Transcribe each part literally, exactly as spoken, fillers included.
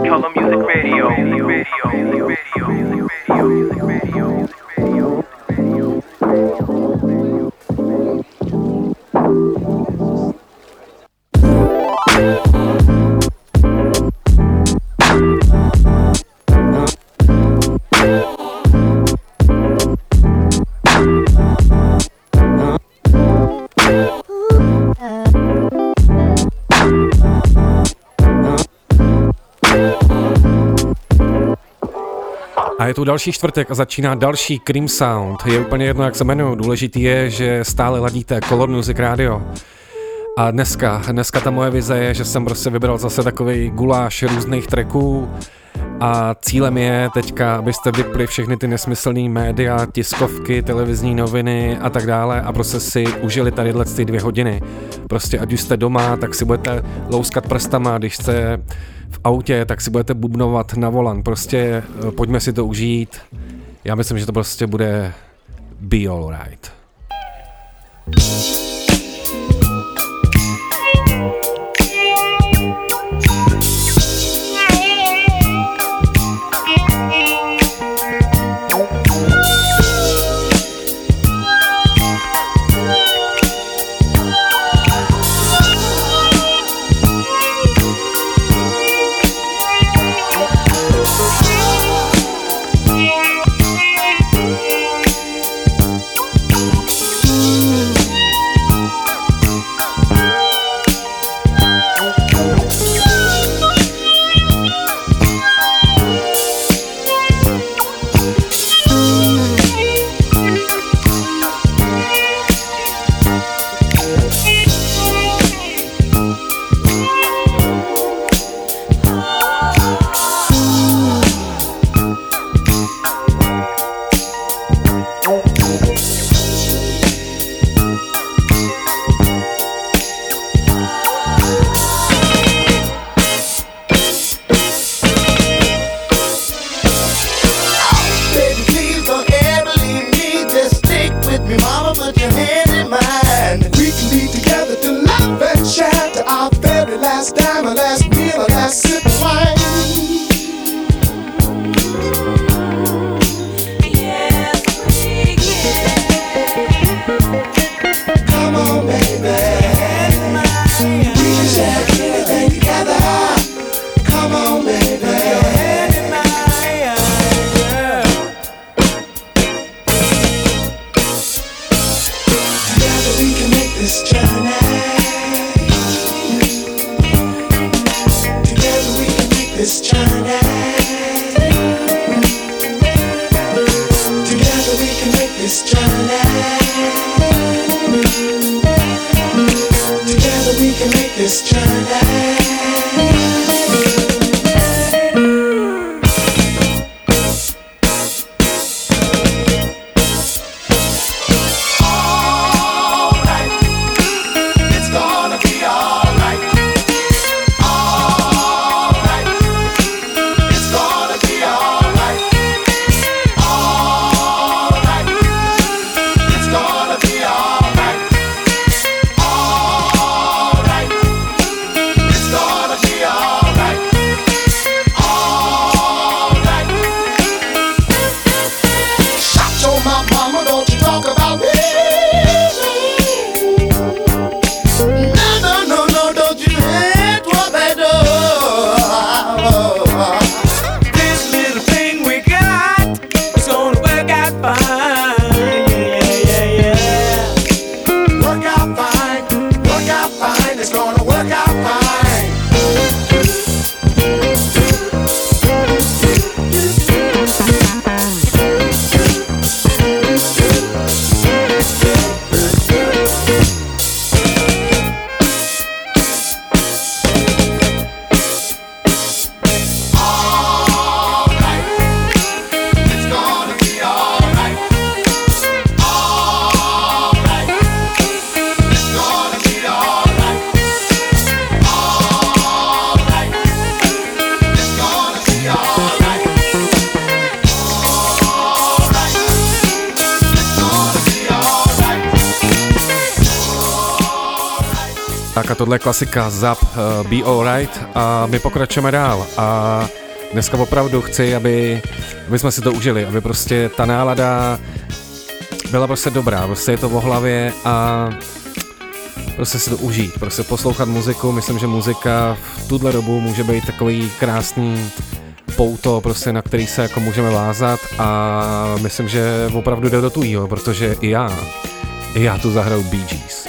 Color Music Radio. Radio. Radio. Radio. Radio. A je tu další čtvrtek a začíná další Cream Sound. Je úplně jedno, jak se jmenuju. Důležitý je, že stále ladíte Color Music Radio. A dneska, dneska ta moje vize je, že jsem prostě vybral zase takovej guláš různých tracků a cílem je teďka, abyste vypli všechny ty nesmyslný média, tiskovky, televizní noviny a tak dále a prostě si užili tadyhle ty dvě hodiny. Prostě ať už jste doma, tak si budete louskat prstama, když jste v autě, tak si budete bubnovat na volant. Prostě pojďme si to užít. Já myslím, že to prostě bude be alright. It's Tak a tohle je klasika Zap, uh, Be Alright a my pokračujeme dál a dneska opravdu chci, aby, aby jsme si to užili, aby prostě ta nálada byla prostě dobrá, prostě je to v hlavě a prostě si to užít, prostě poslouchat muziku, myslím, že muzika v tuhle dobu může být takový krásný pouto, prostě na který se jako můžeme vázat a myslím, že opravdu jde do tujího, protože i já, i já tu zahraju Bee Gees.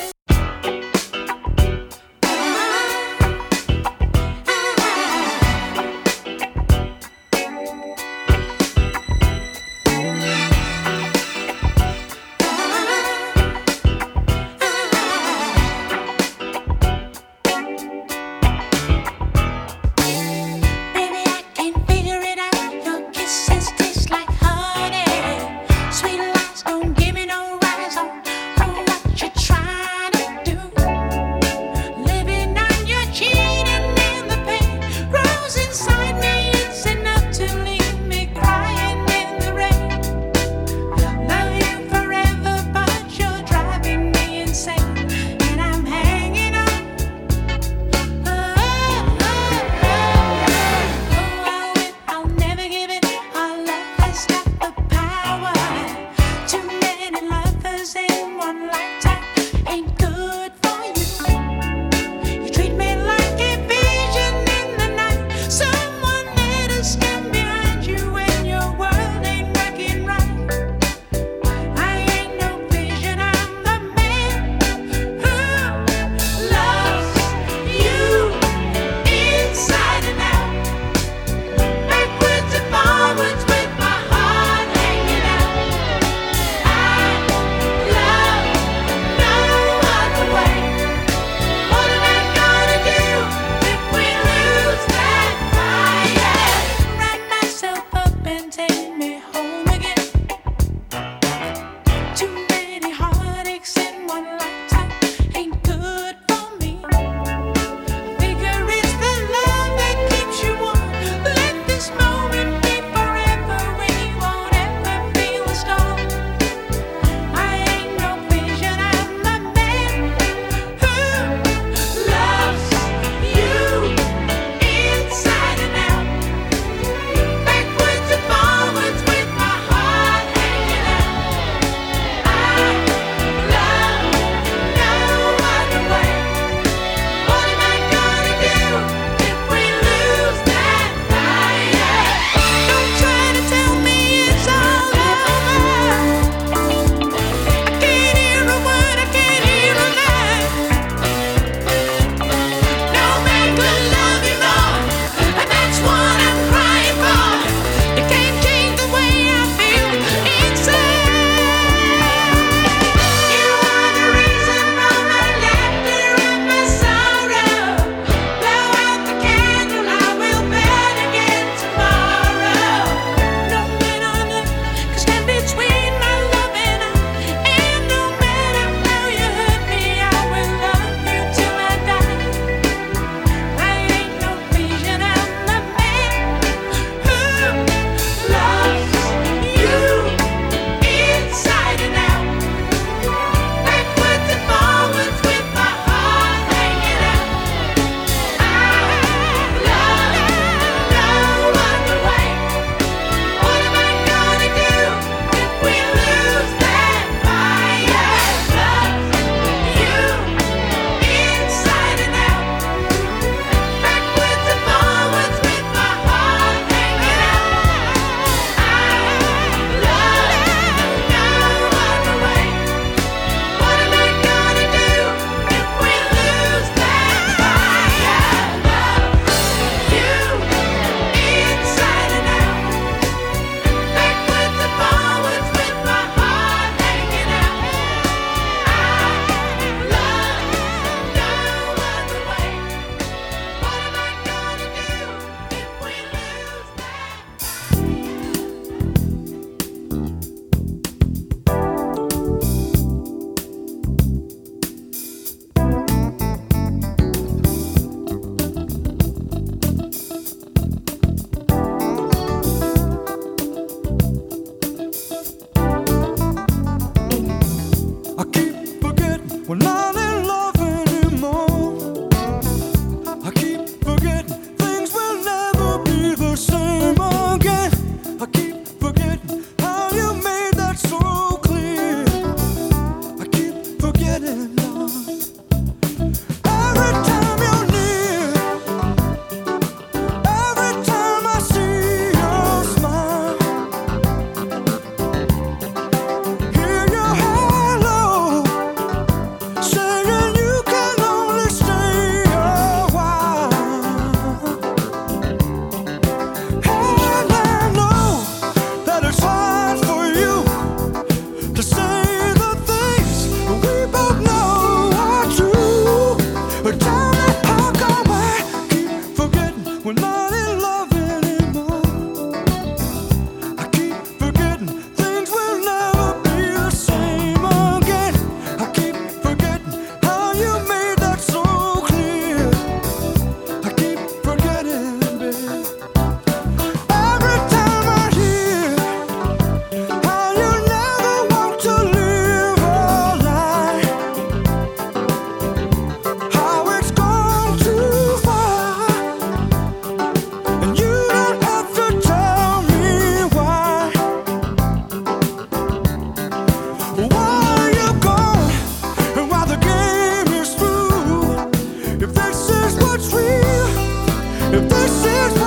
Sweet lies don't give me no rise on, on what you try.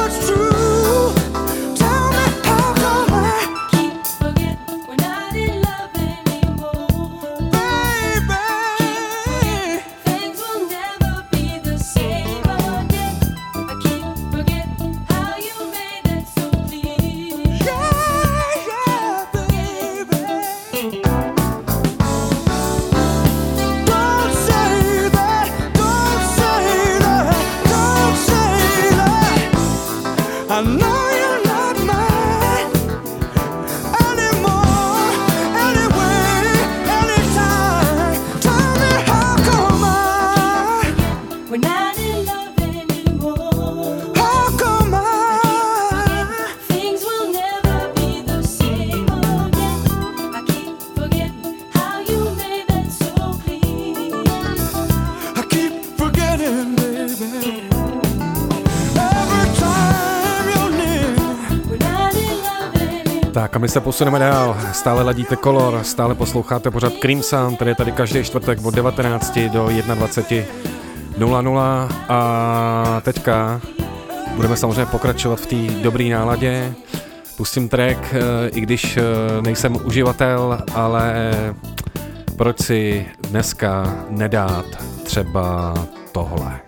Tak a my se posuneme dál, stále ladíte Color, stále posloucháte pořád Cream Sound, který je tady každý čtvrtek od devatenácti do dvacet jedna nula nula a teďka budeme samozřejmě pokračovat v té dobré náladě. Pustím track, i když nejsem uživatel, ale proč si dneska nedát třeba tohle.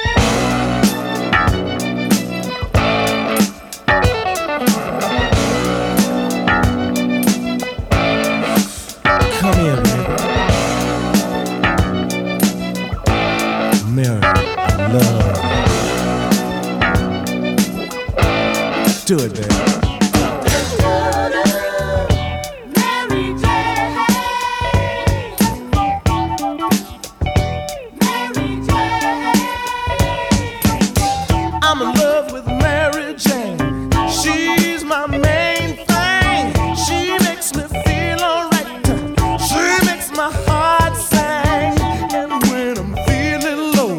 Come here, baby. Mary, I love you. Do it, baby.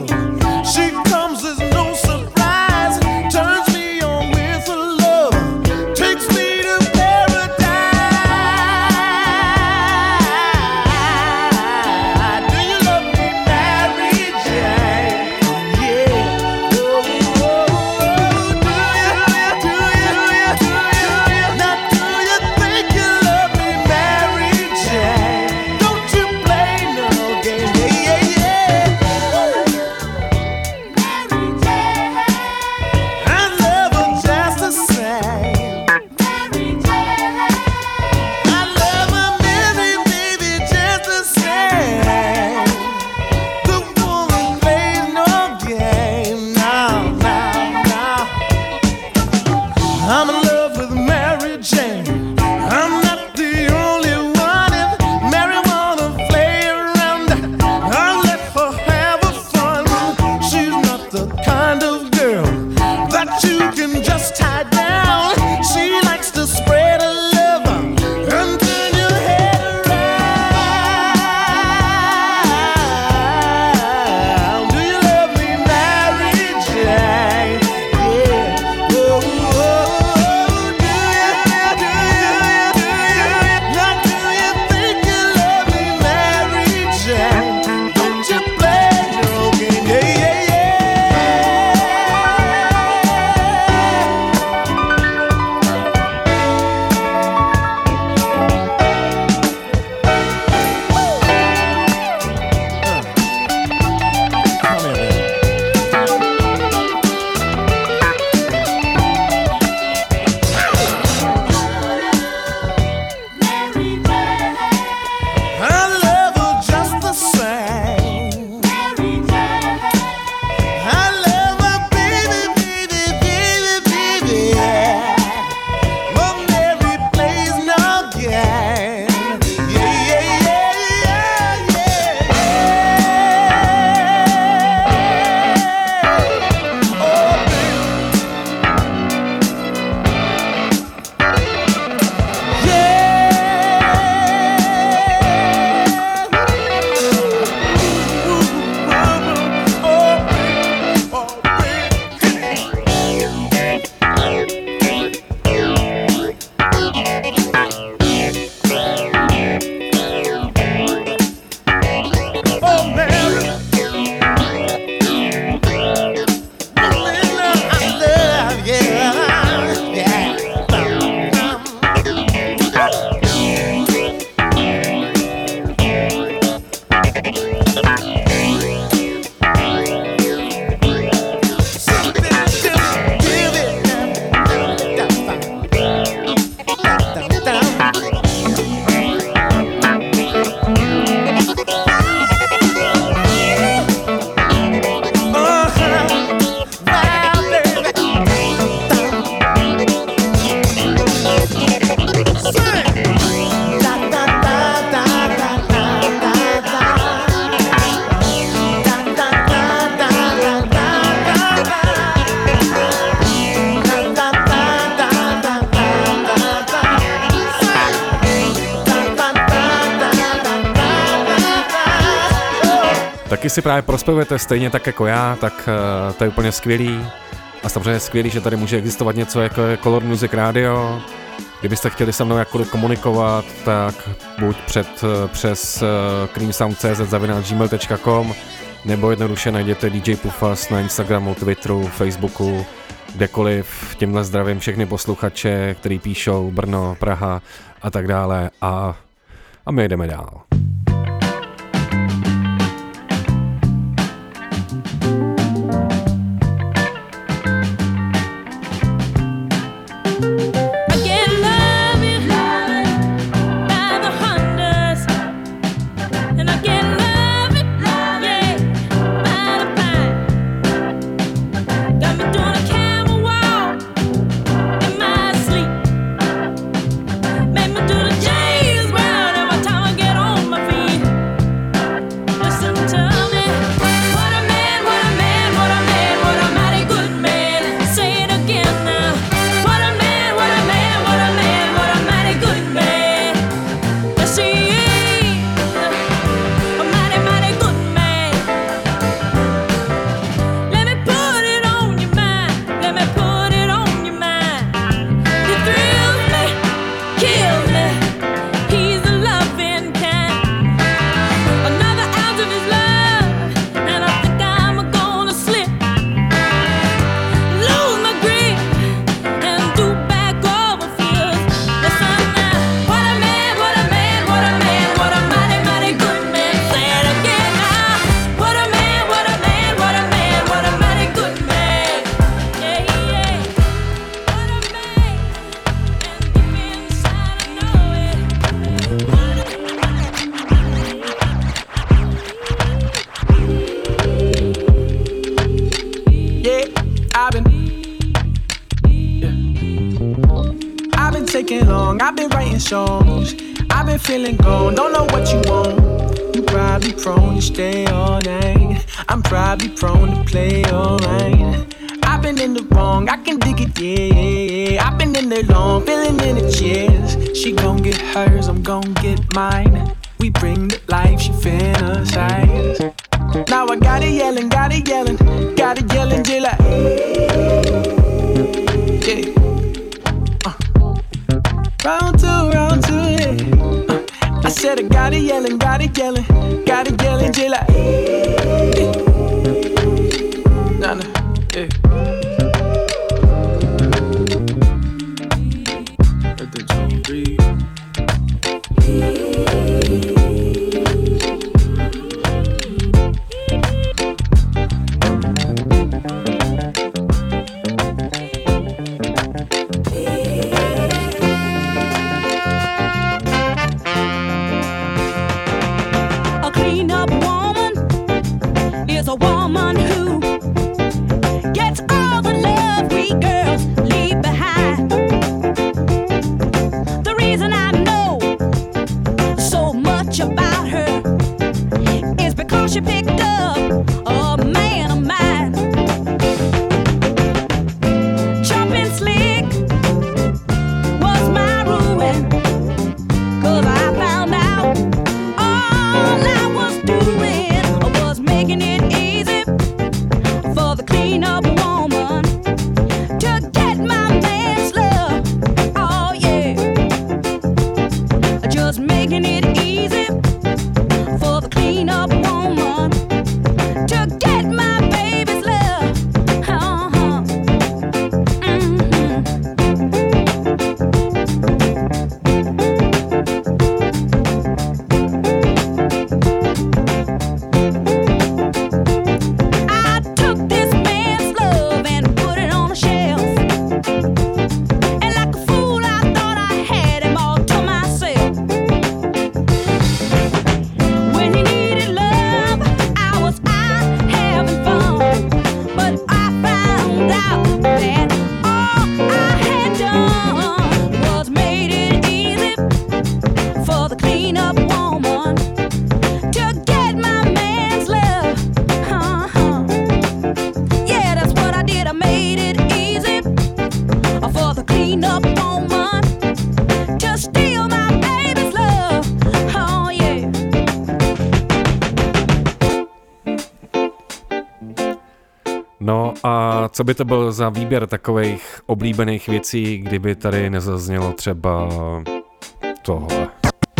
She comes as no surprise, turns me on with her love. díky si právě prospěvujete stejně tak jako já, tak uh, to je úplně skvělý. A samozřejmě je skvělý, že tady může existovat něco jako je Color Music Radio. Kdybyste chtěli se mnou jakkoliv komunikovat, tak buď před, přes uh, creamsound tečka cz zavináč gmail tečka com nebo jednoduše najděte D J Pufas na Instagramu, Twitteru, Facebooku, kdekoliv. Tímhle zdravím všechny posluchače, který píšou Brno, Praha a tak dále a, a my jdeme dál. Songs. I've been feeling gone, don't know what you want. You probably prone to stay all night. I'm probably prone to play all right. I've been in the wrong, I can dig it, yeah, yeah, yeah. I've been in there long, feeling in the chairs. She gon' get hers, I'm gon' get mine. We bring the life, she fantasize. Now I got it yelling, got it yelling, got it yelling till I, yeah. Round two, round two, yeah. uh, I said I got it yelling, got it yelling, got it yelling till I, yeah. Nah, nah, yeah. Let the drum breathe. Co by to byl za výběr takových oblíbených věcí, kdyby tady nezaznělo třeba tohle?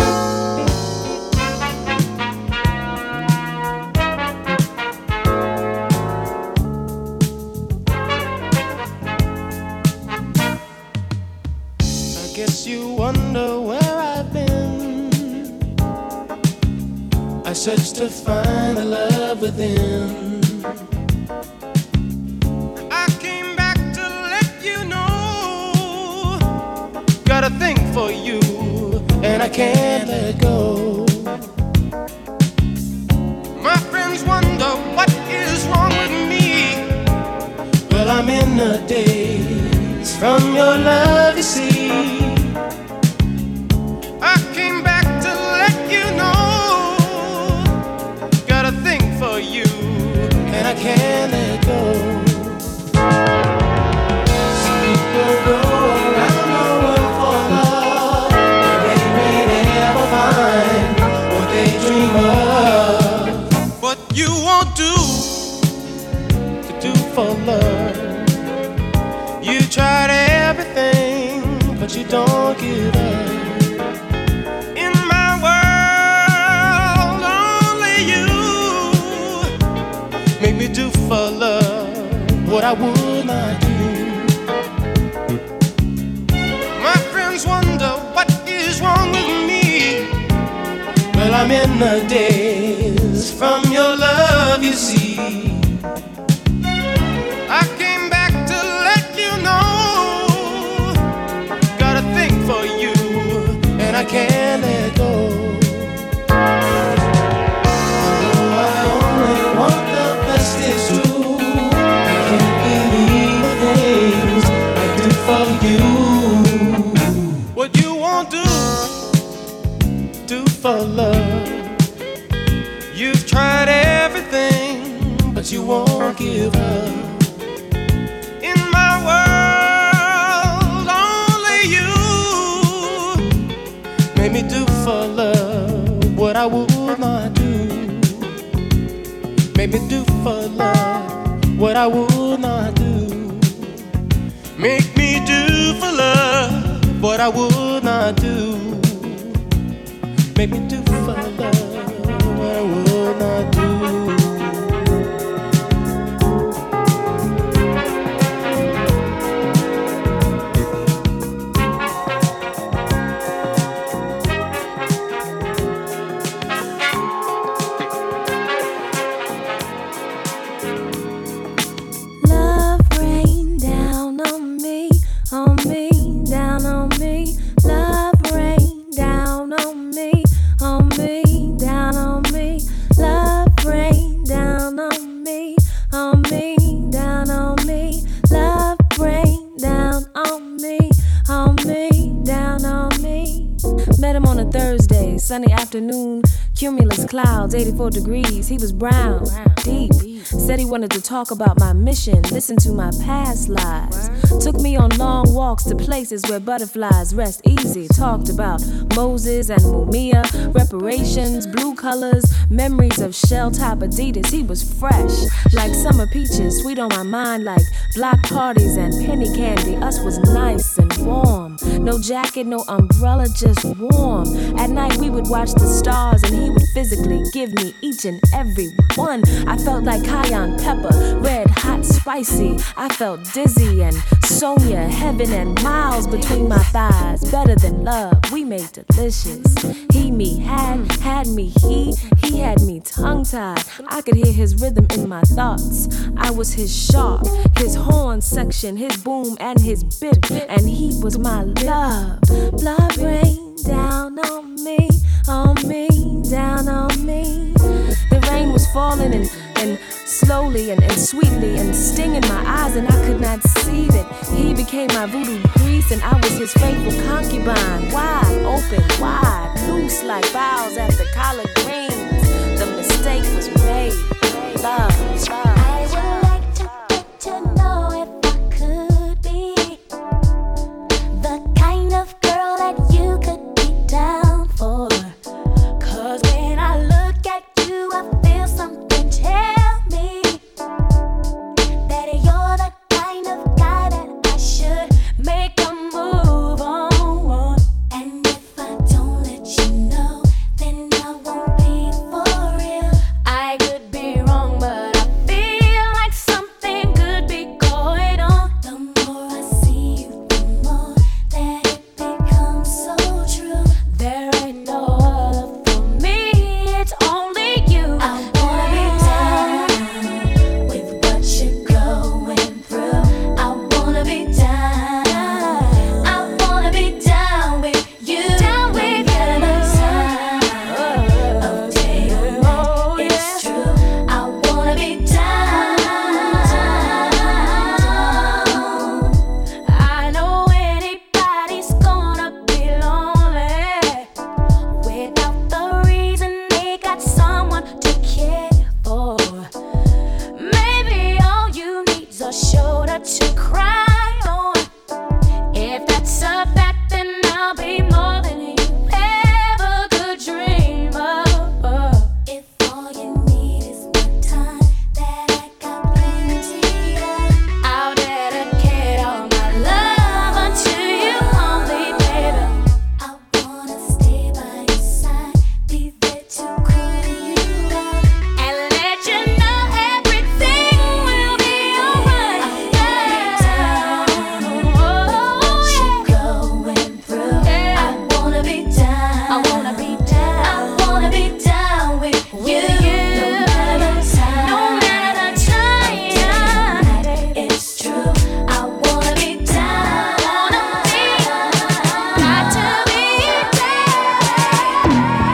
I search to find the love within. I came back to let you know, got a thing for you, and I can't let go. My friends wonder what is wrong with me. Well, I'm in the daze from your love, you see. I came back to let you know, for you, and I can't let go. Some people go around the world for love, but they may never find what they dream of. What you won't do to do for love. You tried everything, but you don't give up. Make me do for love what I would not do. My friends wonder what is wrong with me. Well, I'm in the daze from your love, you see. I came back to let you know, got a thing for you, and I can't let go. It's true, I can't believe the things I do for you. What you won't do, do for love. You've tried everything, but you won't give up. In my world, only you made me do for love what I would not do. Make me do for love what I would not do. Make me do for love what I would not do. Make me do for love what I would not do. Sunny afternoon, cumulus clouds, eighty-four degrees. He was brown, deep. Said he wanted to talk about my mission, listen to my past lives. Took me on long walks to places where butterflies rest easy. Talked about Moses and Mumia, reparations, blue colors, memories of shell-top Adidas. He was fresh, like summer peaches, sweet on my mind like block parties and penny candy. Us was nice and warm. No jacket, no umbrella, just warm. At night we would watch the stars and he would physically give me each and every one. I felt like cayenne pepper, red, hot, spicy. I felt dizzy and Sonia, heaven and miles between my thighs. Better than love, we made delicious. He, me, had, had me, he, he had me tongue-tied. I could hear his rhythm in my thoughts. I was his sharp, his horn section, his boom and his bit, and he was my love. Blood rain down on me, on me, down on me. The rain was falling and, and slowly and, and sweetly and stinging my eyes, and I could not see that he became my voodoo priest and I was his faithful concubine. Wide open, wide, loose like boughs after collard greens. The mistake was made. Love, love. I would like to get to know if I could be the kind of girl that you could be down for. Cause when I look at you, I feel something tell me that you're the make a move on. And if I don't let you know, then I won't be for real. I could be wrong, but I feel like something could be going on. The more I see you, the more that it becomes so true. There ain't no other for me, it's only you. I wanna be down with what you're going through. I wanna be down. I wanna be down with you. Down with you. Of day or night, it's true. I wanna be down. I know anybody's gonna be lonely without the reason they got someone to care for. Maybe all you need's a shoulder to cry on. If that's a fact, then I'll be more than you ever could dream of. If all you need is my time, that I got plenty of, I'll dedicate all my love unto you only, baby. I wanna stay by your side, be there to cool you up, and let you know everything will be alright. What you're going through, I wanna be down. I wanna be down. I wanna be down with you. No matter the time, no matter the time, it's true. I wanna be down. Wanna be, got to be down.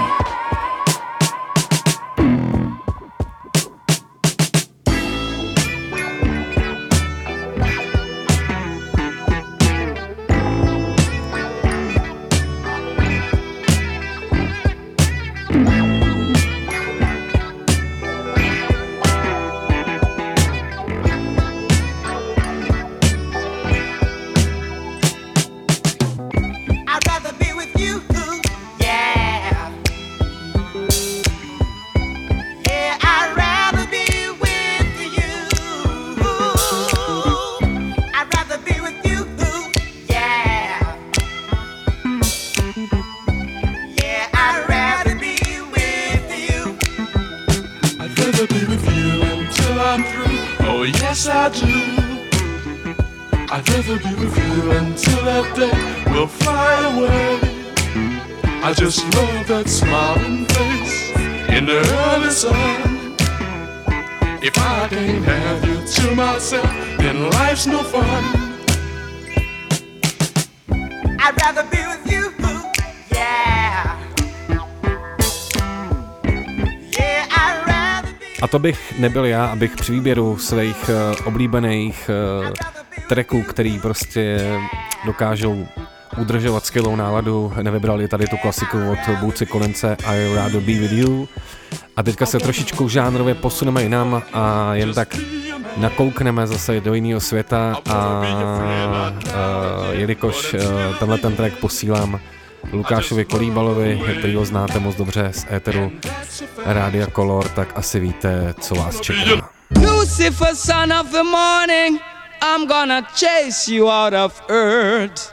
I'd rather be with you, yeah. Yeah, I'd rather be with you. I'd rather be with you, yeah. Yeah, I'd rather be with you. I'd rather be with you until I'm through. Oh yes I do. I'd rather be with you until that day will fly away. I just love that smiling face in the early sun. If I can't have you to myself, then life's no fun. I'd rather be with you, yeah. Yeah, I'd rather be. A to bych nebyl já, abych při výběru svých uh, oblíbených uh, tracků, který prostě dokážou udržovat skvělou náladu, nevybrali tady tu klasiku od Bootsy Collinse I Rather Be With You. A teďka se trošičku žánrově posuneme jinam a jen tak nakoukneme zase do jiného světa a, a jelikož uh, tenhle ten track posílám Lukášovi Kolíbalovi, který ho znáte moc dobře z éteru Rádia Color, tak asi víte, co vás čeká. Lucifer, son of the morning, I'm gonna chase you out of earth.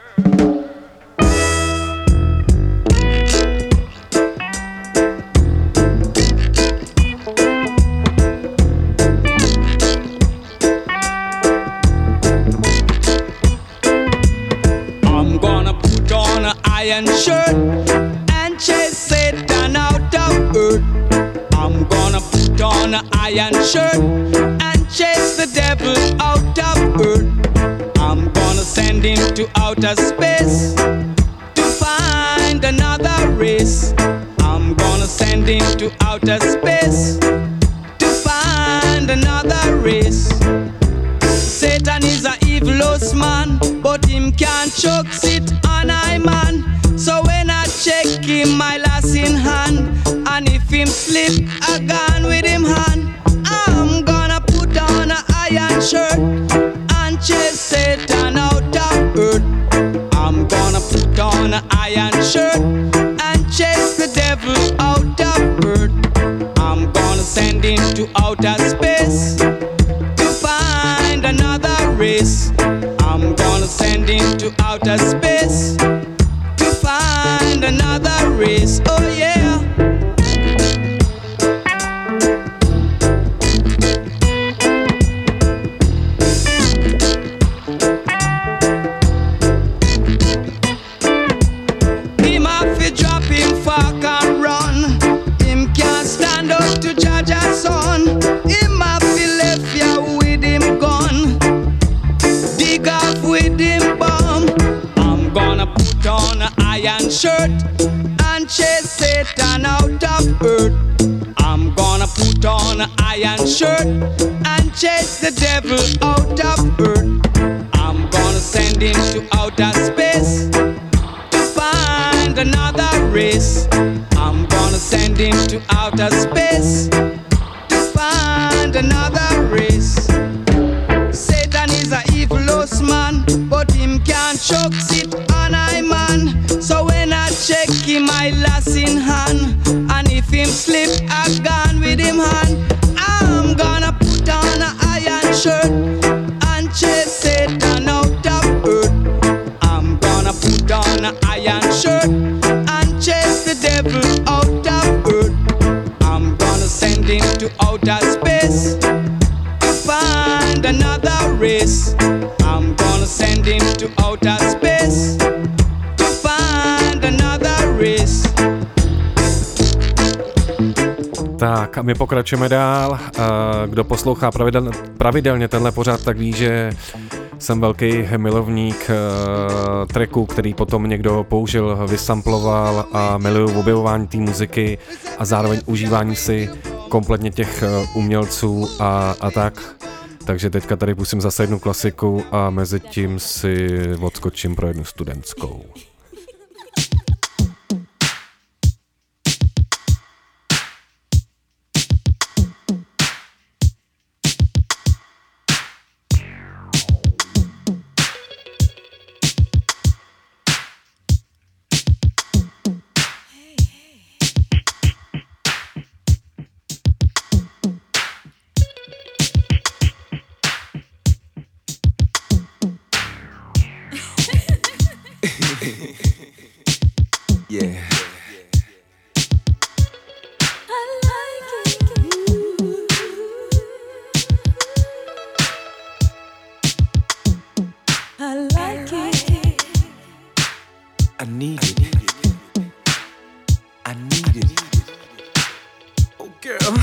I'm gonna put on an iron shirt and chase Satan out of earth. I'm gonna put on an iron shirt and chase the devil out of earth. I'm gonna send him to outer space to find another race. I'm gonna send him to outer space to find another race. Satan is a evilous man, but him can't choke sit on I man. So when I check him, my lass in hand, and if him slip, I gone with him hand. I'm gonna put on an iron shirt and chase Satan out of earth. I'm gonna put on an iron shirt and chase the devil out of earth. I'm gonna send him to outer space to find another race. I'm gonna send him him to outer space to find another race. Oh yeah. Him have to drop him fuck and run. Him can't stand up to judge a son. Him have to left ya with him gun. Dig off with him bomb. I'm gonna put on an iron shirt and chase Satan out of earth. I'm gonna put on an iron shirt and chase the devil out of earth. I'm gonna send him to outer space to find another race. I'm gonna send him to outer space to find another race. Satan is a evil man, but him can't choke sit on I man. So when I check him, I lass in hand, and if him slip, I gone with him hand. I'm gonna put on an iron shirt and chase Satan out of earth. I'm gonna put on an iron shirt and chase the devil out of earth. I'm gonna send him to outer space to find another race. I'm gonna send him to outer space to find another race. Tak a my pokračujeme dál. Kdo poslouchá pravidel, pravidelně tenhle pořad, tak ví, že jsem velký milovník uh, tracku, který potom někdo použil, vysamploval a miluju objevování té muziky a zároveň užívání si kompletně těch uh, umělců a, a tak. Takže teďka tady pustím zase jednu klasiku a mezi tím si odskočím pro jednu studentskou. Yeah. I need it. I need it. Oh, girl.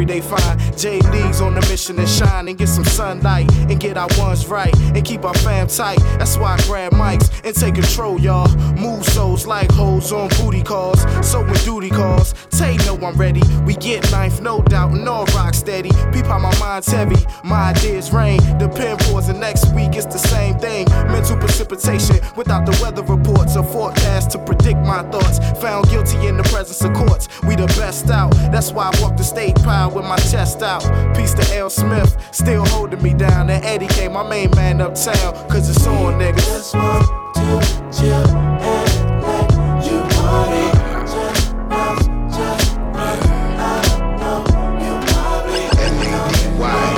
every day fine. J D's on the mission to shine and get some sunlight and get our ones right and keep our fam tight. That's why I grab mics and take control, y'all. Move souls like hoes on booty calls. So when duty calls, Tay know I'm ready. We get ninth, no doubt, and all rock steady. Peep how my mind's heavy, my ideas rain. The pen pours and next week it's the same thing. Mental precipitation without the weather reports or forecast to predict my thoughts. Found guilty in the presence of courts. We the best out. That's why I walk the state proud with my chest out. Peace to L. Smith, still holding me down. And Eddie K, my main man uptown. Cause it's on, niggas. Just want to chill and let you party. Just bounce, just run. I know you probably L A D Y.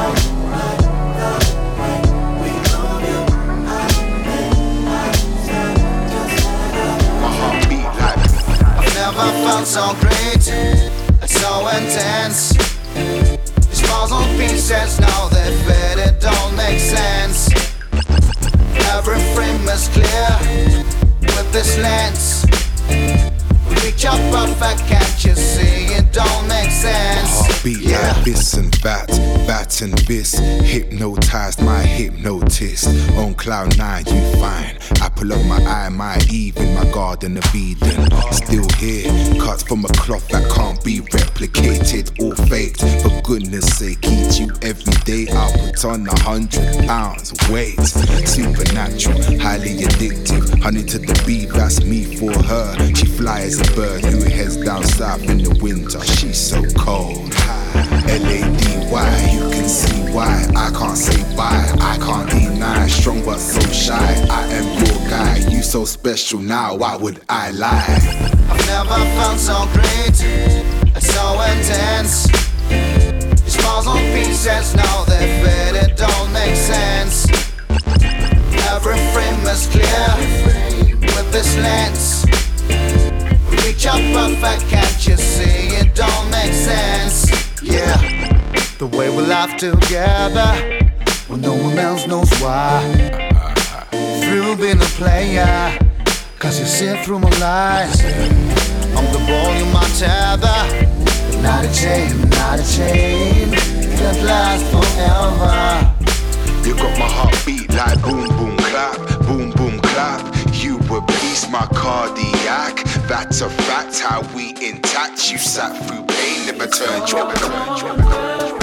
Never felt so great, so intense. These balls on pieces, now they fit, it don't make sense. Every frame is clear with this lens. Reach up perfect, can't you see? It don't make sense. Heartbeat yeah. like this and that, that and this. Hypnotized, my hypnotist. On cloud nine, you find. Apple of my eye, my Eve in my garden of Eden. Still here, cuts from a cloth that can't be replicated or faked. For goodness sake, eat you every day. I'll put on a hundred pounds weight. Supernatural, highly addictive. Honey to the bee, that's me for her. She flies a bird who heads down south in the winter. She's so cold. L A D Y, you can see why I can't say bye, I can't deny. Strong but so shy, I am your guy. You so special now, why would I lie? I've never felt so great, so intense. These balls on pieces, now they fit, it don't make sense. Every frame is clear with this lens. Reach up perfect, can't you see? It don't make sense. Yeah, the way we laugh together when no one else knows why. Through being a player, cause you see through my lies. I'm the ball, you're my tether. Not a chain, not a chain that lasts forever. You got my heartbeat like boom boom clap, boom boom clap. You a beast, my cardiac. That's a fact, how we intact. You sat through pain, never turned your back.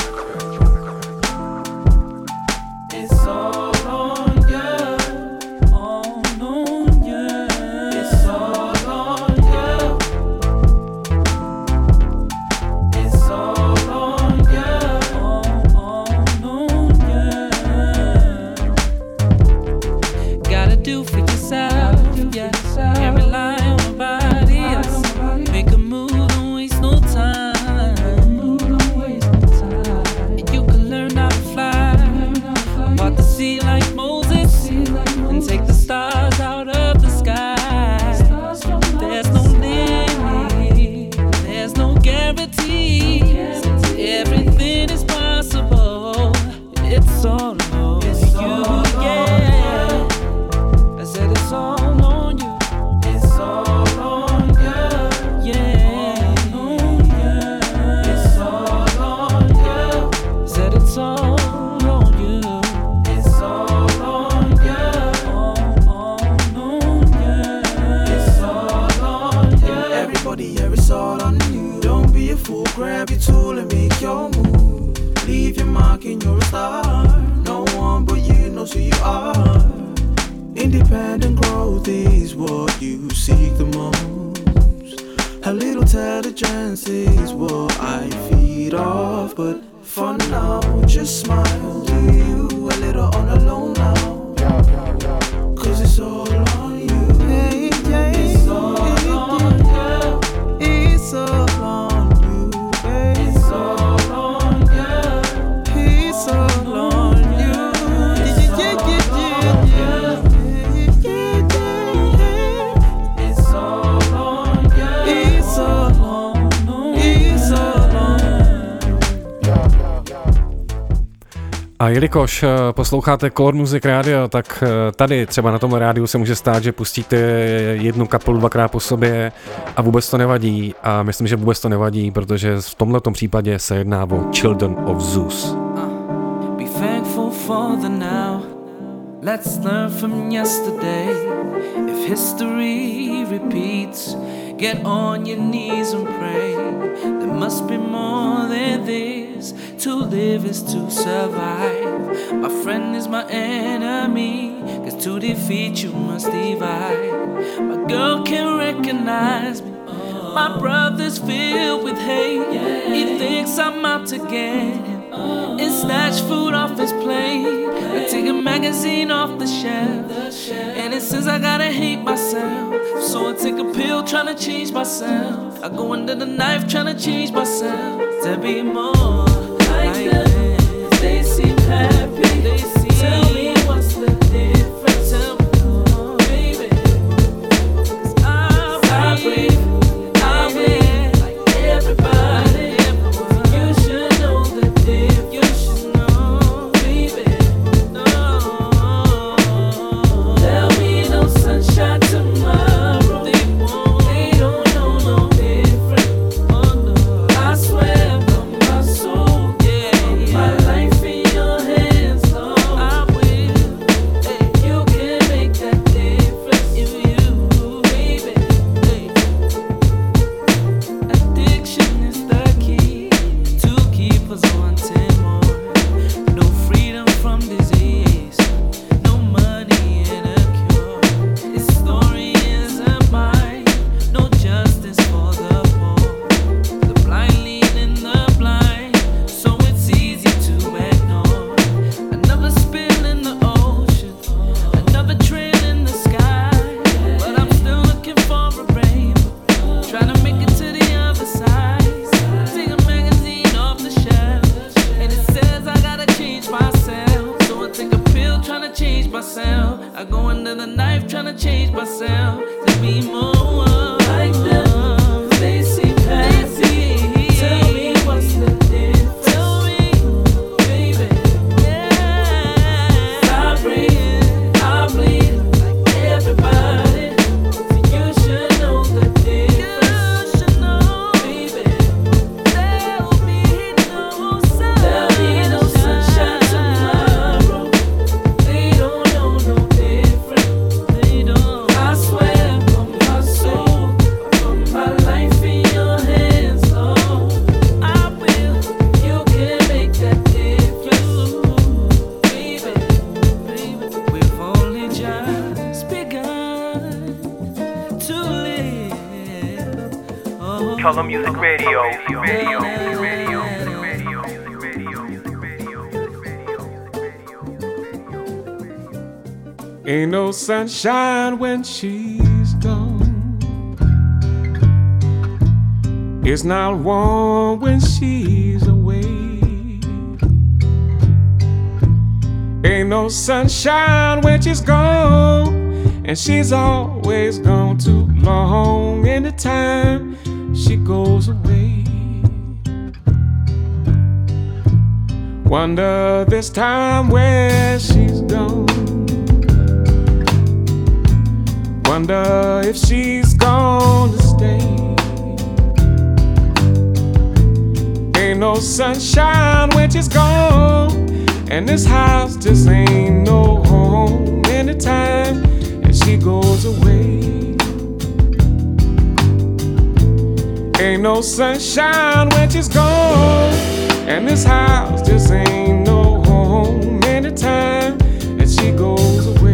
It's all on you, all on you. It's all on you. It's all on you, all on you. Gotta do for yourself, yeah. Can't rely on nobody else. Make a move, don't waste no time. And you can learn how to fly. Walk the sea like Moses and take the stars out of the sky. There's no limit, there's no guarantee. Everything is possible. It's all on you, yeah. I said it's all on you. It's all on you, yeah. It's all on you. Said it's all on you. It's all on you. All on you. It's all on you. Everybody, yeah, it's all on you. Don't be a fool. Grab your tool and make your move. Leave your mark and you're a star. No one but you knows who you are. Independent growth is what you seek the most. A little intelligence is what I feed off. But for now, just smile. Do you a little on the low now? Cause it's all on you. Hey, yeah. It's all on you. It's all on you, baby. It's all on you. It's all on you. Yeah, yeah, yeah, yeah, yeah. It's all on you. It's all on you. It's all on you. A jelikož posloucháte Color Music Radio, tak tady třeba na tom rádiu se může stát, že pustíte jednu kapelu dvakrát po sobě a vůbec to nevadí. A myslím, že vůbec to nevadí, protože v tomhletom případě se jedná o Children of Zeus. Be thankful for the now. Let's learn from yesterday. If history repeats, get on your knees and pray. There must be more than this. To live is to survive. My friend is my enemy, cause to defeat you must divide. My girl can recognize me. My brother's filled with hate. He thinks I'm out to get him and snatch food off his plate and take a magazine off the shelf. And it says I gotta hate myself, so I take a pill trying to change myself. I go under the knife trying to change myself to be more like them. They seem happy. They seem Tell me what's the difference. Tell me more, baby. 'Cause I, I breathe, I breathe like everybody. You should know the difference. You should know, baby. No, there'll be no sunshine tomorrow. They won't. They don't know no different. Oh no, I swear on my soul, yeah, my life in your hands, Lord. I will. Hey, you can make that difference if you, baby. Hey. Addiction is the key to keep us wanting more. No freedom from disease, no money and a cure. This story isn't mine, no justice for the poor. The blind leading the blind, so it's easy to ignore. Another spill in the ocean, another trail in the sky. But I'm still looking for a rainbow, trying to make it to the other side. Take a magazine off the shelf, and it says I gotta change myself. So I take a pill trying to change myself. I go under the knife trying to change myself to be more like them. They seem happy. Tell me what's the difference. Tell me, baby. Yeah. I breathe, I bleed like everybody. So you should know the difference. You should know, baby. There'll be no sun. There'll be no sunshine tomorrow. They don't know no different. They don't. I swear on my soul, I put my life in your hands, Lord. I will. You can make that difference, baby, baby. We've only just begun to live. Oh, Color Music Radio. Radio. Ain't no sunshine when she's gone. It's not warm when she's away. Ain't no sunshine when she's gone, and she's always gone too long. Anytime she goes away, wonder this time where she's gone. Wonder if she's gonna stay. Ain't no sunshine when she's gone, and this house just ain't no home. Anytime that she goes away, ain't no sunshine when she's gone, and this house just ain't no home. Anytime that she goes away.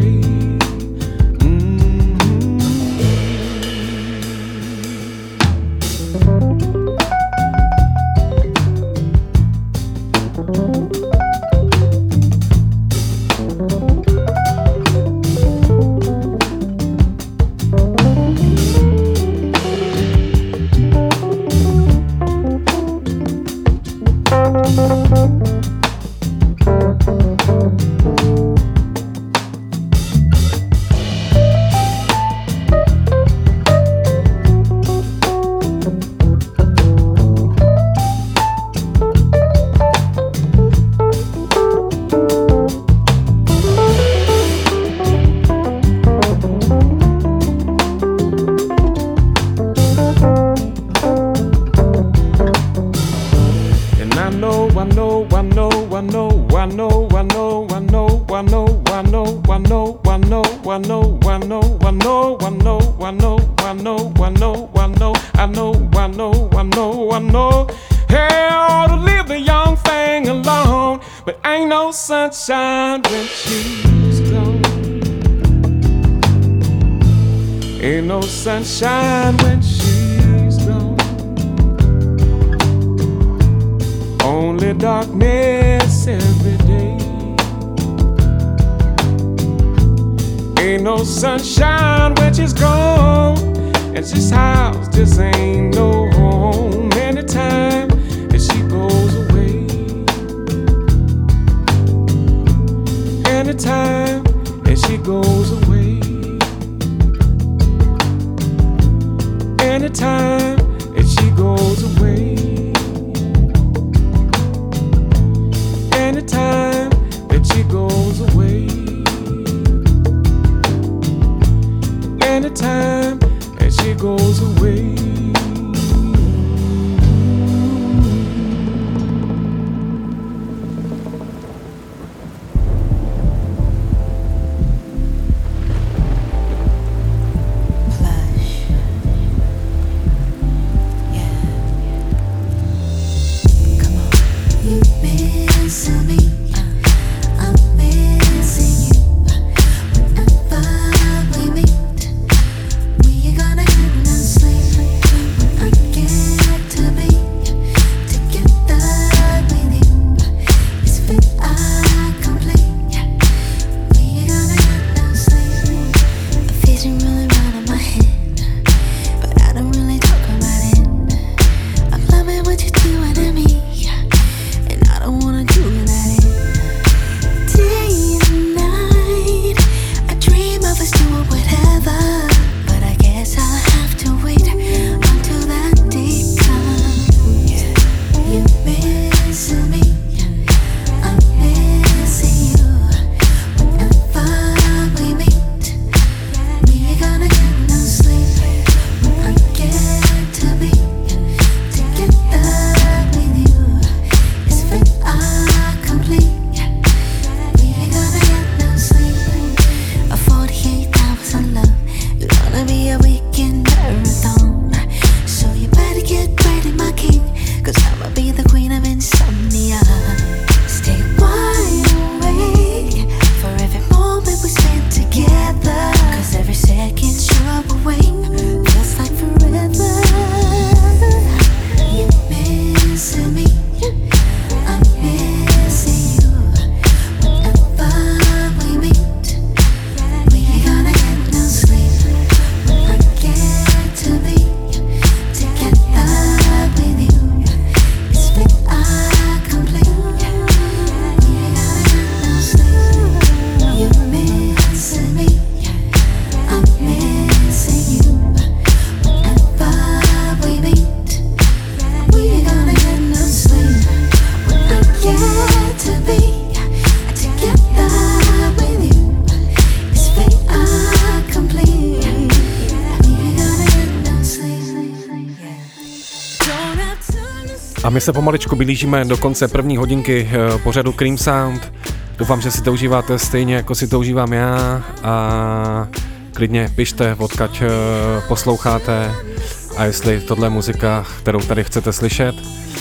I know, I know, I know, I know, I know, I know, I know, I know, I know, I know, I know, I know, I know, I know. Hey, I ought to leave the young thing alone, but ain't no sunshine when she's gone. Ain't no sunshine when she's gone. Only darkness every day. Ain't no sunshine when she's gone, and this house just ain't no home. Anytime that she goes away, anytime that she goes away, anytime that she goes away, anytime that she goes away, anytime that she goes away. A my se pomaličku blížíme do konce první hodinky pořadu Cream Sound. Doufám, že si to užíváte stejně, jako si to užívám já, a klidně pište, odkud posloucháte a jestli tohle je muzika, kterou tady chcete slyšet.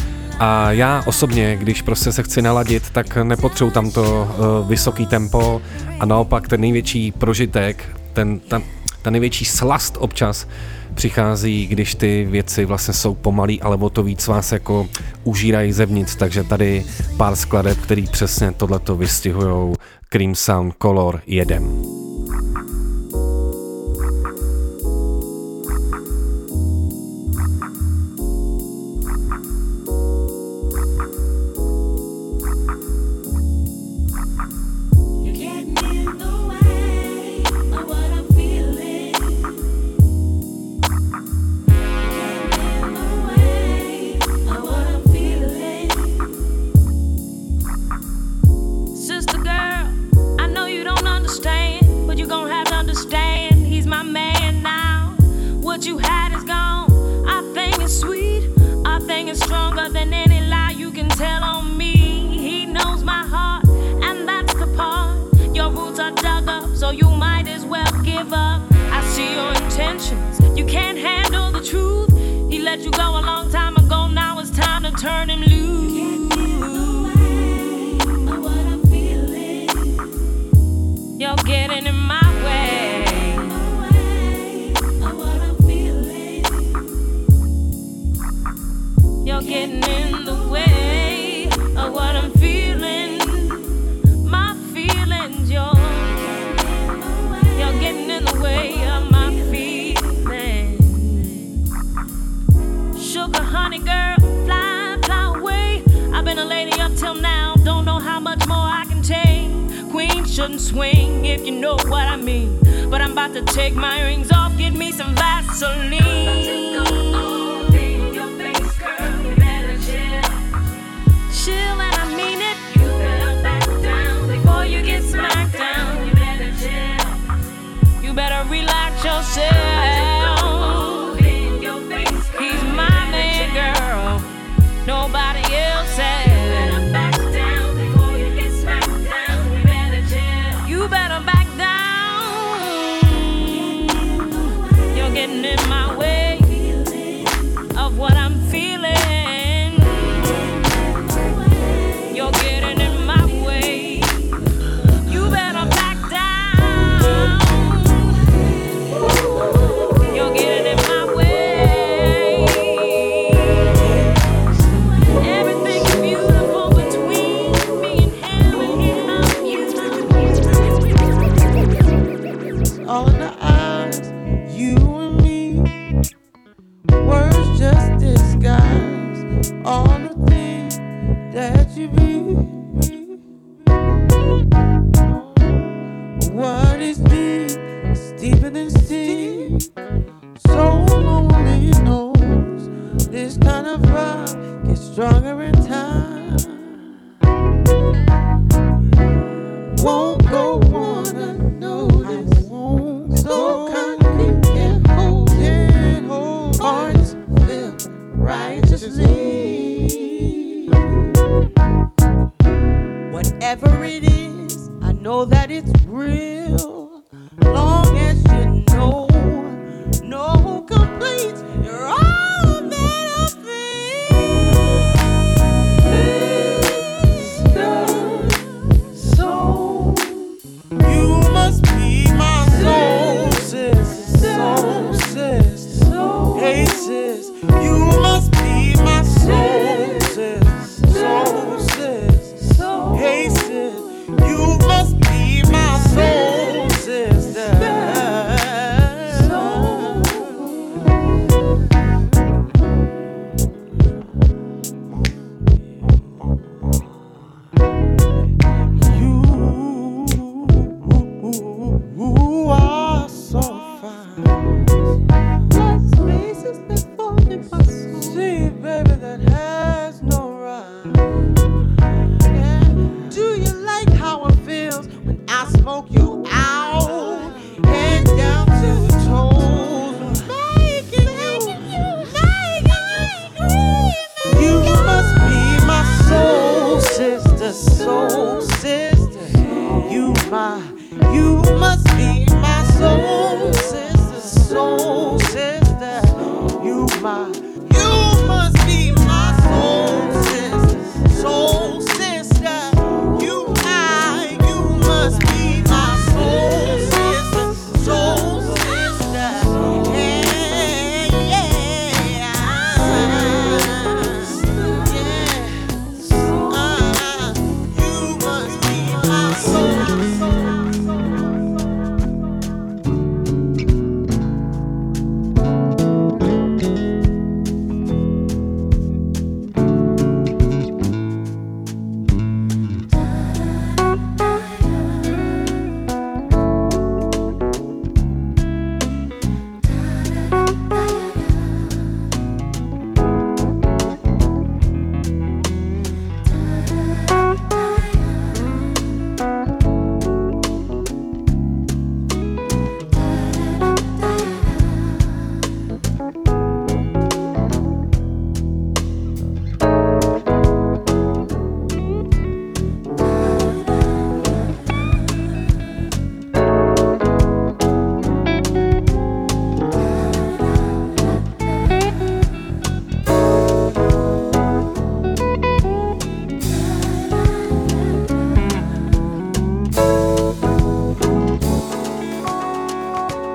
A já osobně, když prostě se chci naladit, tak nepotřebuji tam to uh, vysoký tempo a naopak ten největší prožitek, ten, ta, ta největší slast občas přichází, když ty věci vlastně jsou pomalý, ale o to víc vás jako užírají zevnitř, takže tady pár skladeb, který přesně tohleto vystihujou. Cream Sound Color jedem. Sister girl, I know you don't understand. so you might as well give up. I see your intentions, you can't handle the truth. He let you go a long time ago, now it's time to turn him loose. You can't get away of what I'm feeling. You're getting in my way of what I'm feeling. You're getting in the way of what I'm feeling. My feelings, you're You're getting in the way of my feelings. Sugar honey girl, fly, fly away. I've been a lady up till now, don't know how much more I can take. Queen shouldn't swing, if you know what I mean. But I'm about to take my rings off, get me some Vaseline. Your face, girl, you better chill. Chill and I mean it. You better back down before you get smacked down. You better chill. You better relax yourself. He's my man, girl. Nobody else has. You better back down before you get smacked down. You better chill. You better back down. You're getting in my way of what I'm feeling. You're getting in my way. You better back down. You're getting in my way. Everything is beautiful between me and him, and him. All in the eyes, you and me. Words just disguise all the things that you be. What is deep is deeper than steep. So lonely knows this kind of vibe gets stronger in time. Won't go on unnoticed. So concrete can't hold it. Hearts feel righteously. Whatever it is, I know that it's real. Long as you know, no complaints. You're all that I feel. Soul, you must be my soul, sis. Soul, sis. Hey, sis, you must be my soul, sis. Soul, sis. Hey, sis, you must be my soul, sister. You are so fine. Like spaces that fall in my soul. See, baby, that has no rhyme. Yeah. Do you like how it feels when I smoke you out? Head down to toes. Making you, making you. You must be my soul sister, soul sister. You my, you must be my soul sister, soul sister. You my, you must be my soul sister, soul sister. You I, you must be my soul sister, soul sister. Yeah, yeah, yeah. Uh, you must be my soul.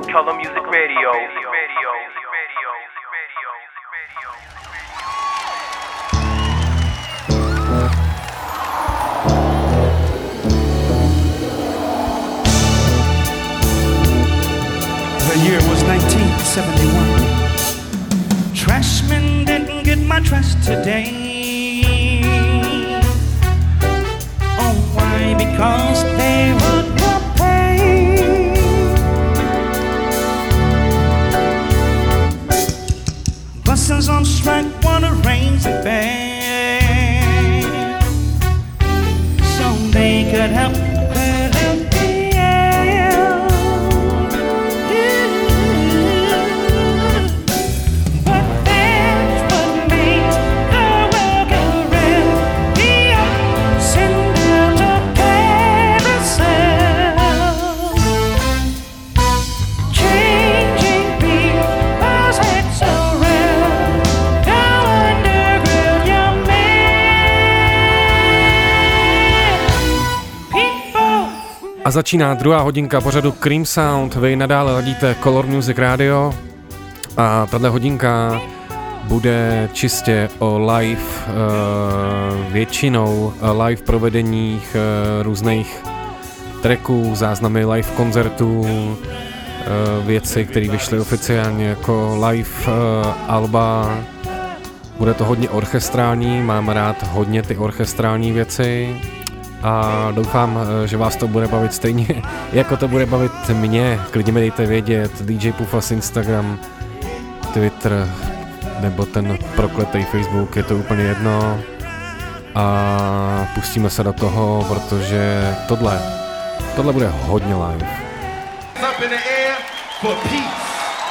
Color Music Radio. The year was nineteen seventy-one. Trashmen didn't get my trash today. Oh, why? Because they would not pay. Buses on strike wanna raise the fare so they could help clear up the air. But that's what makes the world go round. The ups and downs of carousel, changing people's heads around. Now underground, young A začíná druhá hodinka pořadu Cream Sound. Vy nadále ladíte Color Music Radio a tahle hodinka bude čistě o live, většinou live provedeních různých tracků, záznamy live koncertů, věci, které vyšly oficiálně jako live alba. Bude to hodně orchestrální, mám rád hodně ty orchestrální věci. A doufám, že vás to bude bavit stejně, jako to bude bavit mě. Klidně mi dejte vědět, D J Pufas Instagram, Twitter, nebo ten prokletý Facebook, je to úplně jedno. A pustíme se do toho, protože tohle, tohle bude hodně live. Up in the air for peace.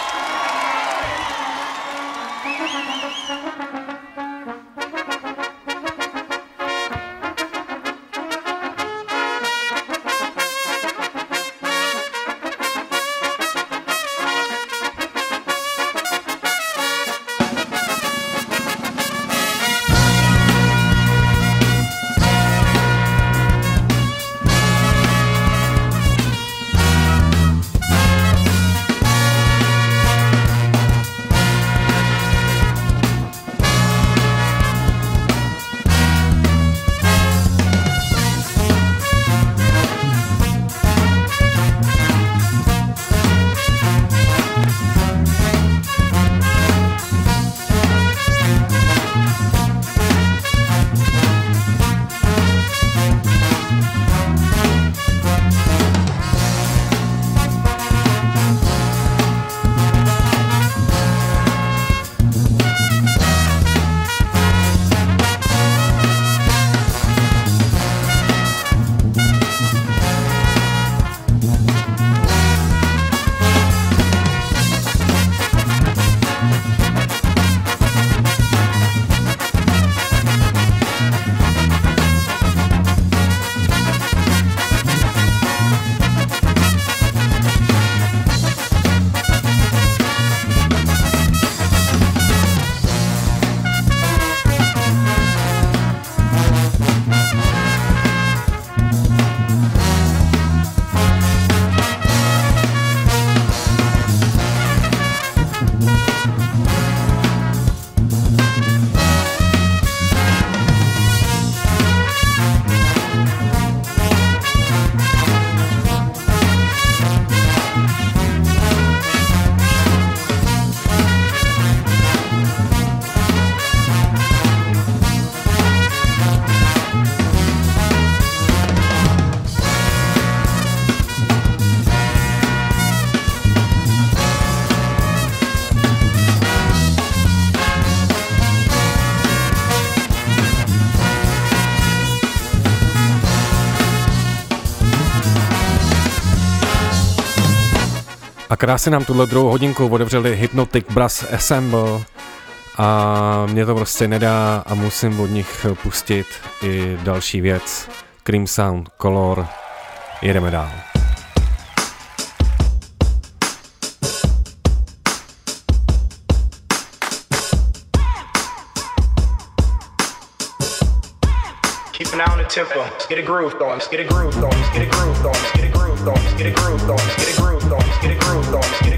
A krásně nám tuhle druhou hodinku otevřeli Hypnotic Brass Ensemble a mě to prostě nedá a musím od nich pustit i další věc. Cream Sound, Color, jedeme dál. Keep an eye on the tempo. Let's get a groove going. Let's get a groove going. Let's get a groove going. Let's get a groove going. Let's get a groove going. Let's get a groove going. Let's get a groove going. Let's get a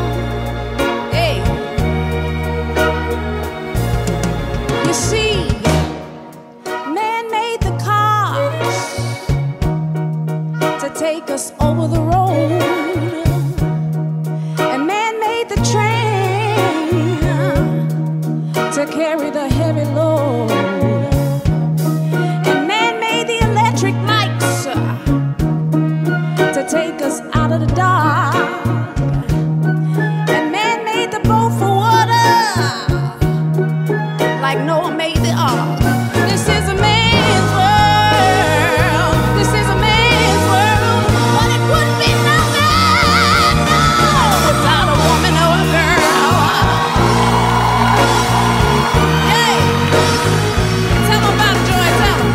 take us over the road. And man made the train to carry the heavy load. And man made the electric lights to take us out of the dark. And man made the boat for water like Noah made the ark. This is a man's world. This is a man's world. But it wouldn't be nothing, no, without a woman or a girl. Hey, tell 'em about it, Joy, tell 'em.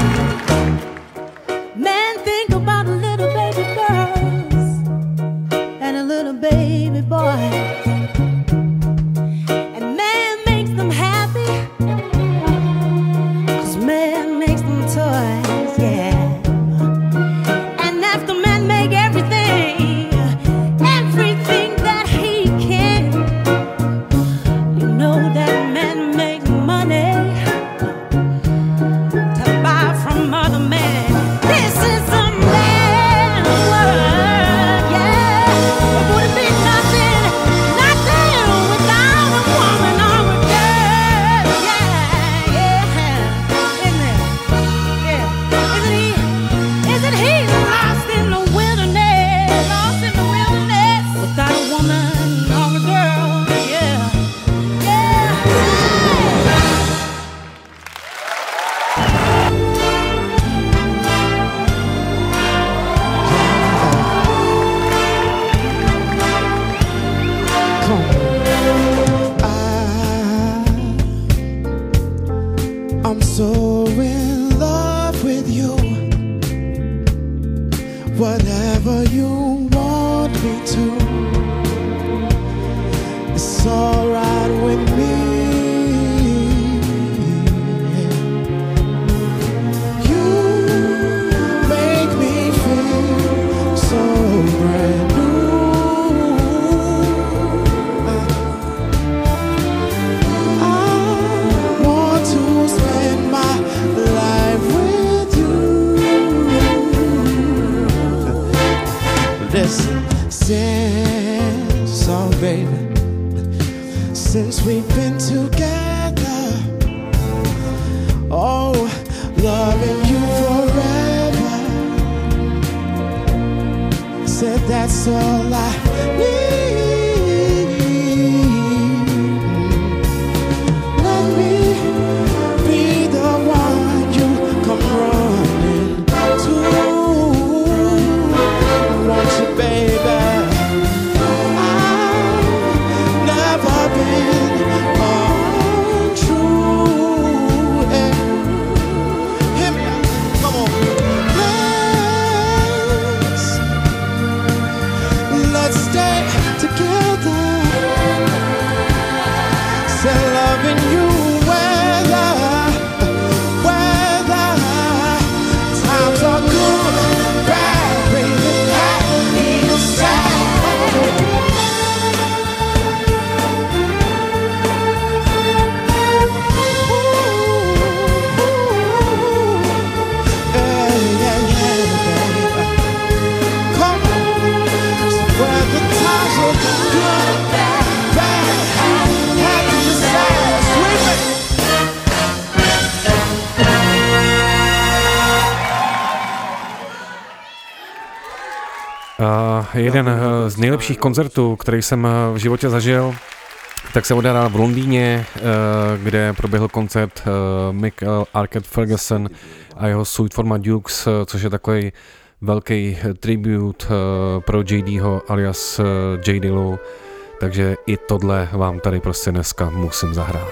Man, think about a little baby girls and a little baby boy. And man makes them happy, 'cause man makes them toys, yeah. And after man make everything, everything that he can, you know that man makes money to buy from other men. This is a man's world, yeah. It wouldn't be nothing, nothing without a woman or a girl, yeah, yeah. Isn't it? Yeah. Isn't he? Isn't he lost in the wilderness? Lost in the wilderness without a woman or a girl, yeah, yeah. I'm so in love with you. Whatever you want me to, it's alright with me. You make me feel so brand new. I want to spend my life with you. Listen, since, oh baby, since we've been together, oh, loving you forever, said that's all I need. Let me be the one you come running to. Want you, baby. I've never been untrue. Yeah. Hear me out. Come on. Let's, let's stay together. Say loving you whether, whether times are good, bad, baby, happy or sad. Yeah, yeah, yeah, baby. Come on. So whether times are good, bad, happy or sad. Sweet baby. Uh, jeden uh, z nejlepších koncertů, který jsem uh, v životě zažil, tak se odehrál v Londýně, uh, kde proběhl koncert uh, Michael Arcade Ferguson a jeho Sweet for My Dukes, uh, což je takový velký tribute uh, pro J Dho alias uh, J Dillu, takže i tohle vám tady prostě dneska musím zahrát.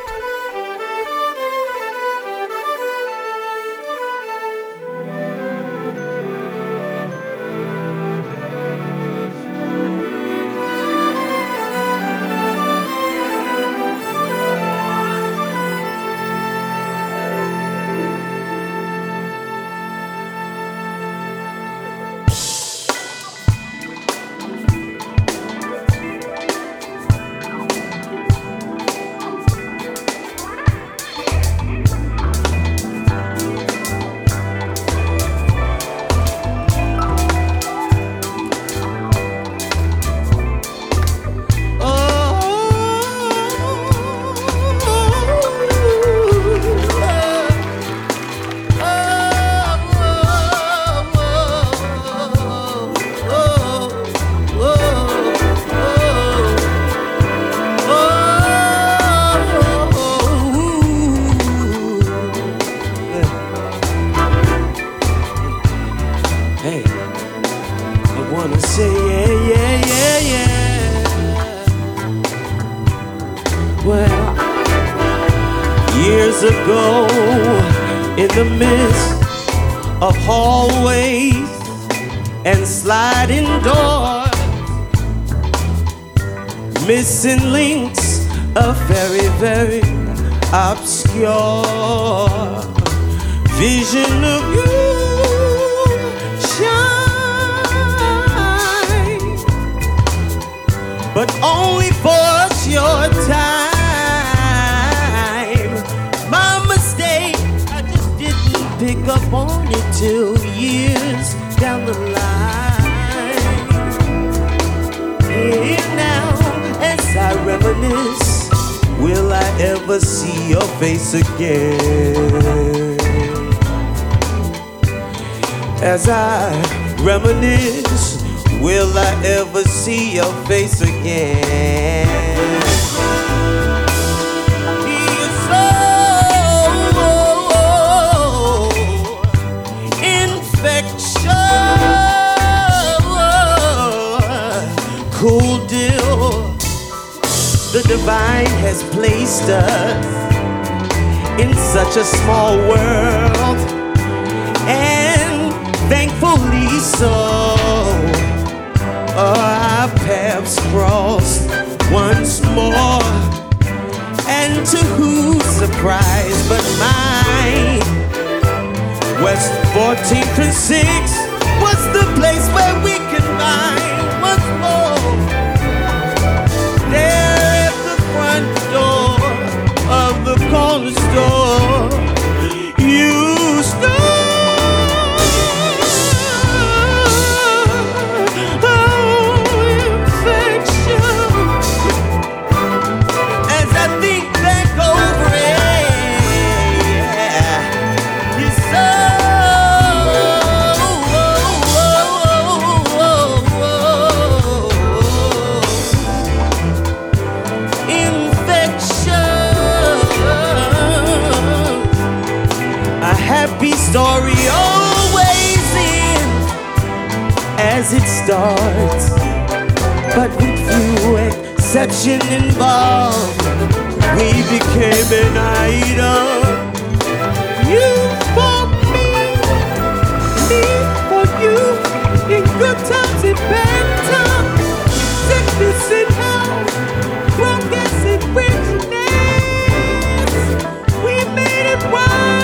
Hey, I wanna say yeah, yeah, yeah, yeah. Well, years ago, in the midst of hallways and sliding doors, missing links, a very, very obscure vision of you shine, but only for a short time. My mistake, I just didn't pick up on it till years down the line. Here now, as I reminisce, will I ever see your face again? As I reminisce, will I ever see your face again? You're so infectious, cool deal. The divine has placed us in such a small world, and thankfully so. Our paths crossed once more, and to whose surprise but mine, West fourteenth and sixth was the place where we combined once more. There at the front door of the corner store, you stood. Story always ends as it starts, but with few exceptions involved, we became an item. You for me, me for you, in good times and bad times, sickness and health, progress and richness, we made it right.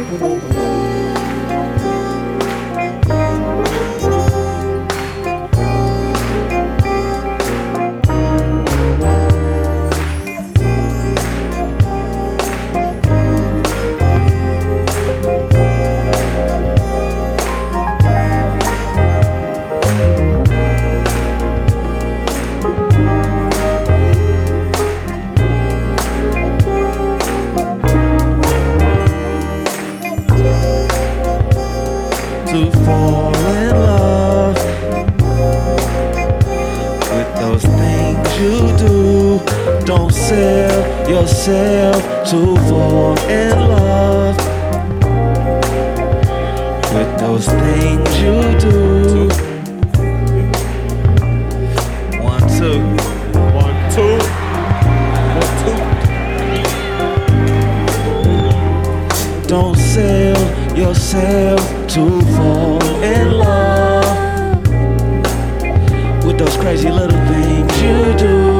To fall in love with those things you do. Don't sell yourself to fall in love with those things you do. One, two. One, two. One, two. Don't sell yourself to fall in love with those crazy little things you do.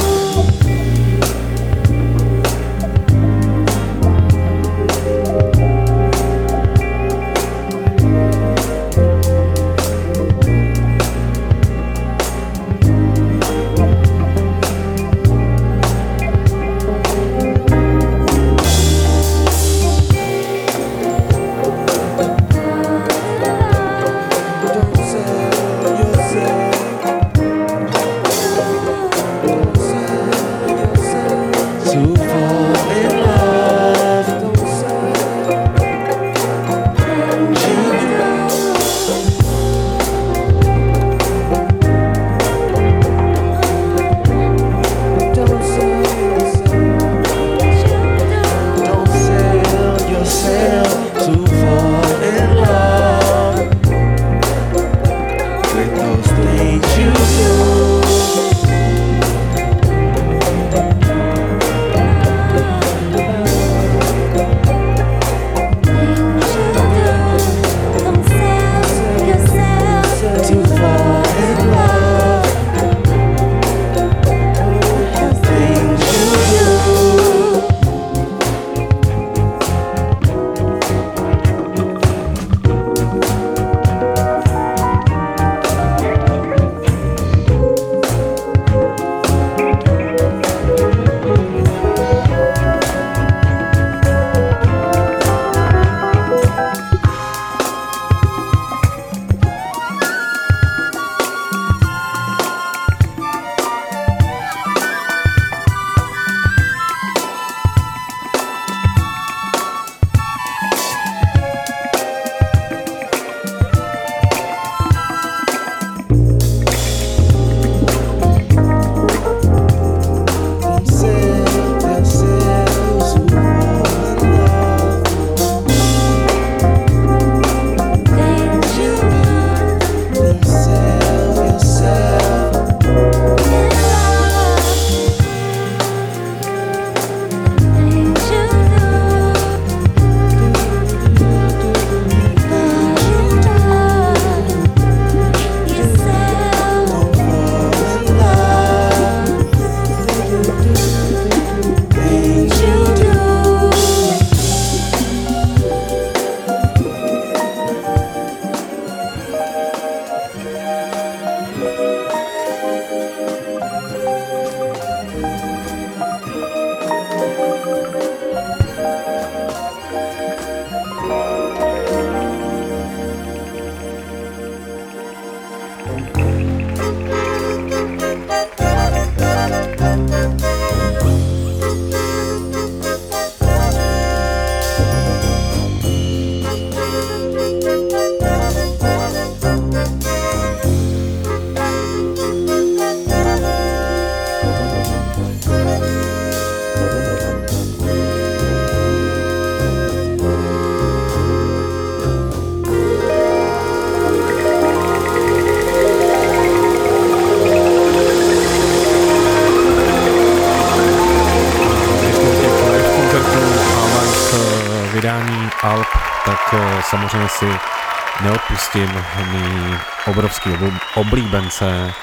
alb, tak samozřejmě si neodpustím mý obrovský oblíbence,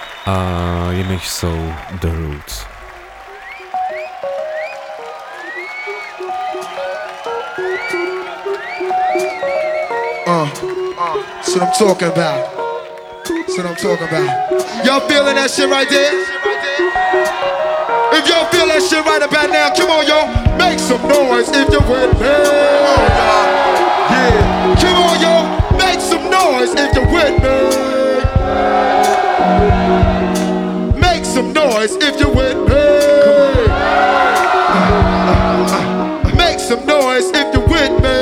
a jimiž jsou The Roots. Uh, that's what I'm talking about. That's what I'm talking about. Y'all feeling that shit right there? If y'all feel that shit right about now, come on, y'all. Make some noise if you're with me. Yeah. Come on, y'all. Make some noise if you're with me. Make some noise if you're with me. Make some noise if you're with me.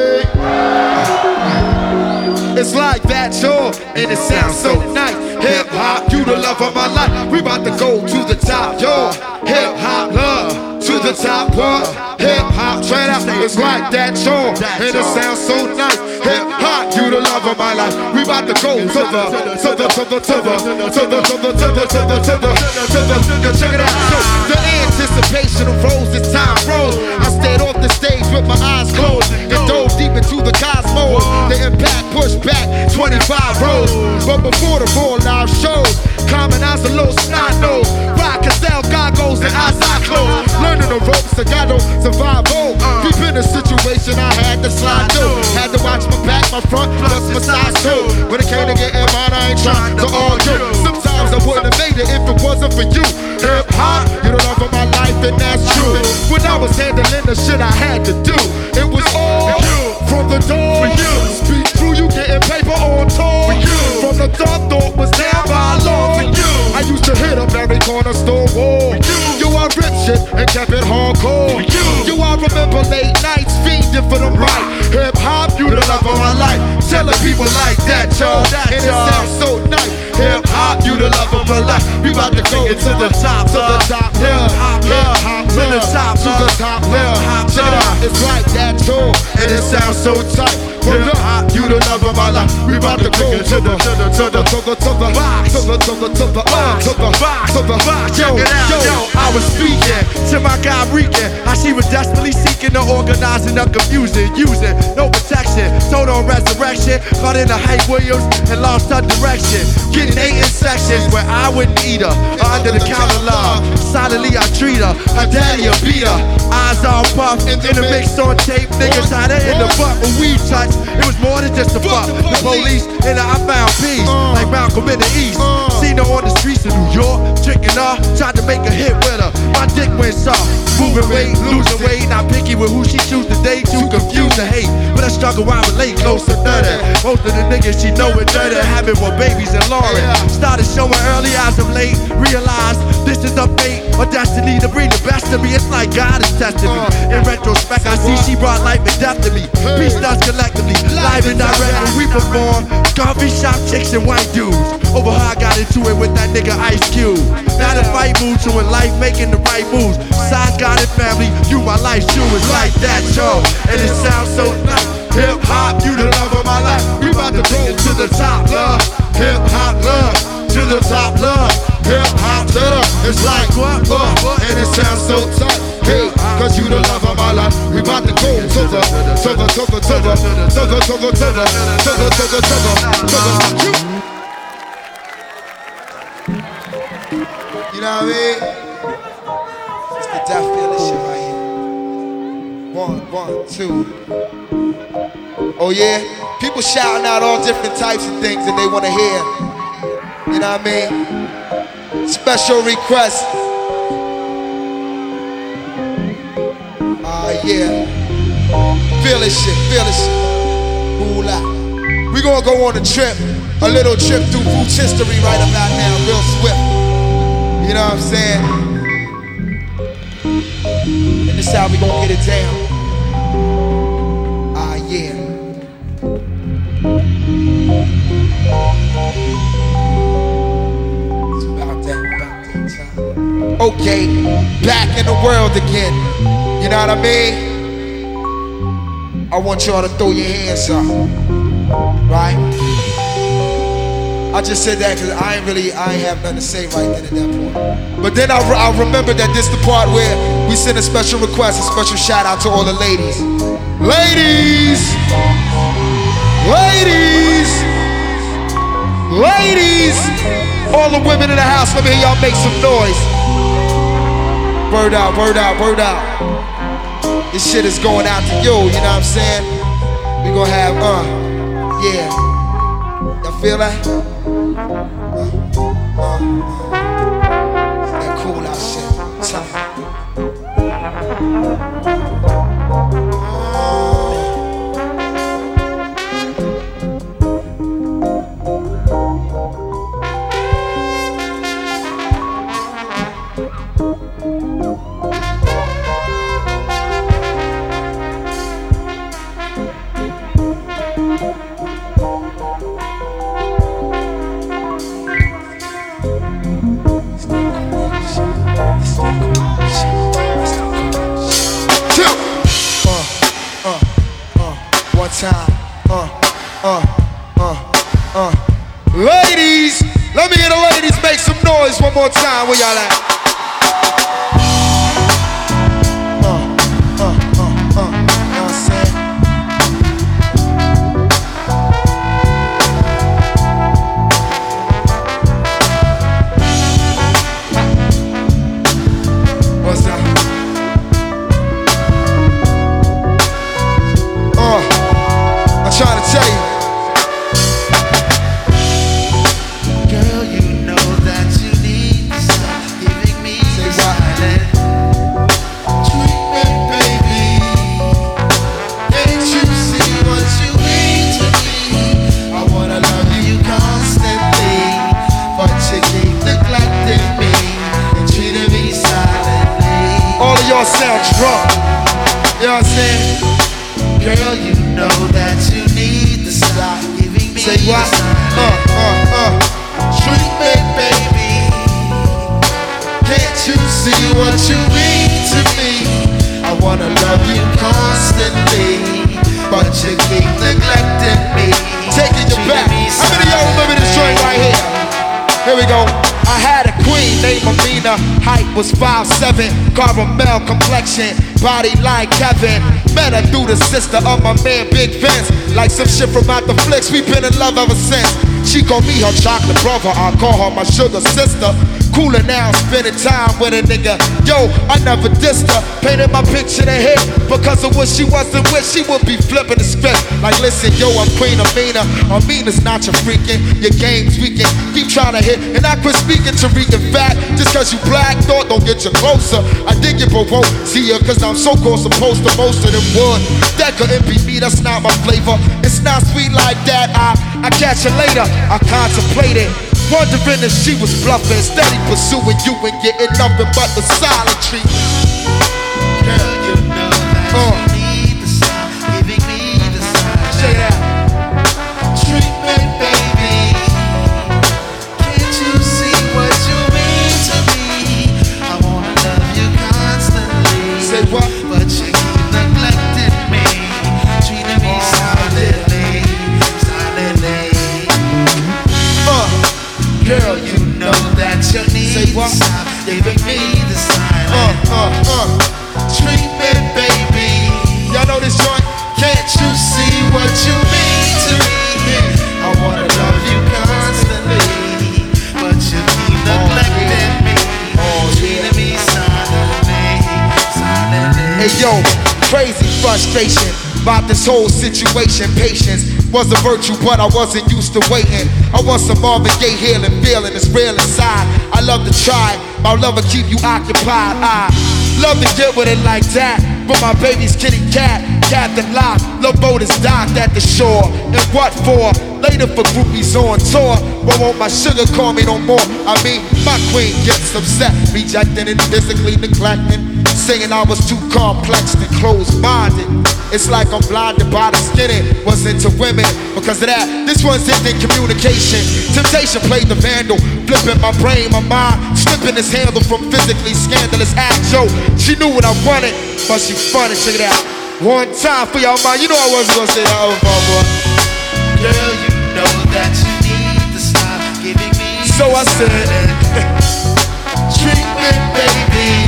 It's like that, y'all, and it sounds so nice. Hip hop, you the love of my life. We about to go to the top, y'all. Hip hop love to the top, what? Hip hop, try it out. It's like that, y'all, and it sounds so nice. Hip hop, you the love of my life. We about to go to the, to the, to the, to the, to the, to the, to the, to the, to the, to the, to the. Check it out. So the anticipation of rose as time rolls. I stayed off the stage with my eyes closed and dove deep into the cosmos. The impact pushed back twenty-five rows, but before the full live shows, common eyes a little snot nose. Rock Castell goggles and eyes I close. Learning the ropes, I got no survival. Deep in the situation, I had to slide through. Had to watch my back, my front, plus my sides too. When it came to getting mine, I ain't trying to argue. Sometimes I wouldn't have made it if it wasn't for you. Hip hop, you the love of my life, and that's true. When I was handling the shit I had to do, it was all from the door. Speak through, you getting paper on tour. From the thought, thought was down by law. I used to hit up every corner store wall. You are rip shit and kept it hardcore. You I remember late nights fiending for them right. Hip hop, you the love of my life. Telling people like that, y'all, and it sounds so nice. Hip hop, you the love of my life. We about to go to the top, to the top, yeah. Hip hop, to the top, to the top, yeah. Check it out, it's like that, y'all, and it sounds so tight. Hip hop, you the love of my life. We about to go to the, to the, to the, to the, to the, to the, to the, to the, to the, to the, to the, yo, yo. I was speaking to my guy Rican, how she was desperately seeking the organizing of confusion, using no protection, told on resurrection, caught in the hype Williams and lost her direction. Getting eight in sections where I wouldn't eat her, under the counter love. Silently I treat her, her daddy a beat her. Eyes all puffed, in the mix on tape, niggas had her in the butt. When we touched, it was more than just a fuck. The police and I found peace, like Malcolm in the East. Seen her on the streets of New York, tricking her, tried to make a hit with her. My dick went soft, moving weight, losing weight. Not picky with who she choose to date, too confused to hate. But I struggle while relate, close to thirty. Most of the niggas she know it dirty, having more babies than Lauren. Started showing early as of late, realized this is a fate or destiny to bring the best of me. It's like God is testing me. In retrospect, I see she brought life and death to me. Peace does collectively, live and direct when we perform. Coffee shop chicks and white dudes. Over her, I got into it with that nigga Ice Cube. Now the fight moves, so in life making the right moves. Sides got it, family, you my life shoe is like that, yo. And it sounds so nice. Hip hop, you the love of my life. We about to go to the top, love. Hip hop, love. To the top, love. Hip hop, to the. It's like what, what, and it sounds so tight. Hey, cause you the love of my life. We about to go to the, to the, to the, to the, to the, to the, to the, to the, to the, to the, to the. You know what I mean? It's the death feeling shit right here. One, one, two. Oh yeah? People shouting out all different types of things that they want to hear. You know what I mean? Special request. Ah uh, yeah. Feel this shit, feel this shit. Ooh la. We gonna go on a trip, a little trip through Roots history right about now, real swift. You know what I'm saying? And this how we gon' get it down. Ah yeah. It's about that, about that time. Okay, back in the world again. You know what I mean? I want y'all to throw your hands up. Right? I just said that because I ain't really, I ain't have nothing to say right then at that point. But then I, I remember that this the part where we send a special request, a special shout out to all the ladies. Ladies! Ladies! Ladies! All the women in the house, let me hear y'all make some noise. Word out, word out, word out. This shit is going out to you, you know what I'm saying? We gonna have, uh, yeah. Y'all feel that? Uh, uh, that cool out shit. Time. Time, uh, uh, uh, uh. Ladies, let me hear the ladies make some noise one more time. Where y'all at? Uh, uh, uh, uh. You know what I'm saying? What's that? Uh. I'm trying to tell you, girl, you know that you need to stop giving me the silent treatment, baby. Can't you see what you mean to me? I wanna love you constantly, but you keep neglecting me and treating me silently. All of y'all sound drunk, you know what I'm saying? Girl, you know that you need to stop giving me. Say what? Uh, uh, uh. Treatment, baby. Can't you see what you mean to me? I wanna love you constantly, but you keep neglecting me. Taking you back. How many of y'all remember this joint right here? Here we go. I had a queen named Amina. Height was five seven, caramel complexion, body like Kevin. Met her through the sister of my man Big Vince. Like some shit from out the flicks, we been in love ever since. She called me her chocolate brother, I call her my sugar sister. Cooler now, spending time with a nigga. Yo, I never dissed her, painted my picture to hit. Because of what she wasn't with, she would be flipping the script. Like listen, yo, I'm Queen Amina. Amina's not your freaking, your game's weaking. Keep trying to hit, and I quit speaking to read. In fact, just cause you black, thought don't get you closer. I did get provoked, see ya, cause I'm so close opposed to most of them would. That couldn't be me, that's not my flavor. It's not sweet like that, I, I catch you later. I contemplated, wondering if she was bluffing, steady pursuing you and getting nothing but the silent treatment. Girl, you know that uh. you need to stop giving me the silent. Say that. Treatment, baby. Can't you see what you mean to me? I wanna love you constantly. Say what? But you keep neglecting me, treating me silently, silently. Uh. Girl, you know that you need to stop giving me the silent uh, uh, uh. treatment, baby. Y'all know this joint? Can't you see what you mean to me? I wanna love you constantly, but you keep neglecting me, treating me silently, silently. Hey yo, crazy frustration about this whole situation. Patience was a virtue, but I wasn't used to waiting. I want some Marvin Gaye healing, feeling it's real inside. I love to try, my love will keep you occupied. I love to get with it like that, but my baby's kitty cat, Captain Lock, love boat is docked at the shore. And what for? Later for groupies on tour. But won't my sugar call me no more? I mean, my queen gets upset, rejecting and physically neglecting, saying I was too complex and closed-minded. It's like I'm blinded by the skinny. Was into women because of that. This one's in communication. Temptation played the vandal, flipping my brain, my mind, slipping this handle from physically scandalous acts. Yo, she knew what I wanted, but she funny. Check it out. One time for y'all mind. You know I wasn't gonna say that over, my boy. Girl, you know that you need to stop giving me. So I said, treatment, baby.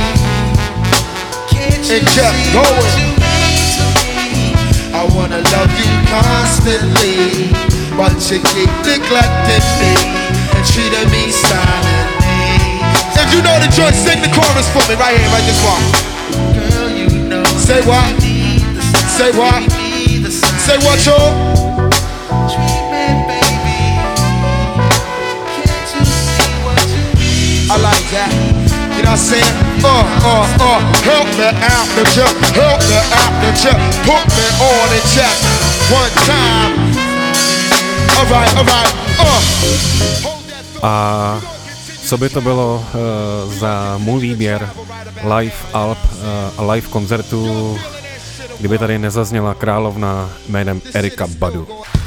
Can't you see what you mean to me? I wanna love you constantly, but you keep neglecting me and treating me silently. If you know the joint, sing the chorus for me right here, right this one. Girl, you know. Say what? Say what? Say what, y'all? I like that. You know what I'm saying? Uh, uh, uh, help me out the jump, help me out the jump, put me on the check one time. Alright, alright, uh. A co by to bylo uh, za můj výběr live alb uh, a live koncertu, kdyby tady nezazněla královna jménem Erykah Badu.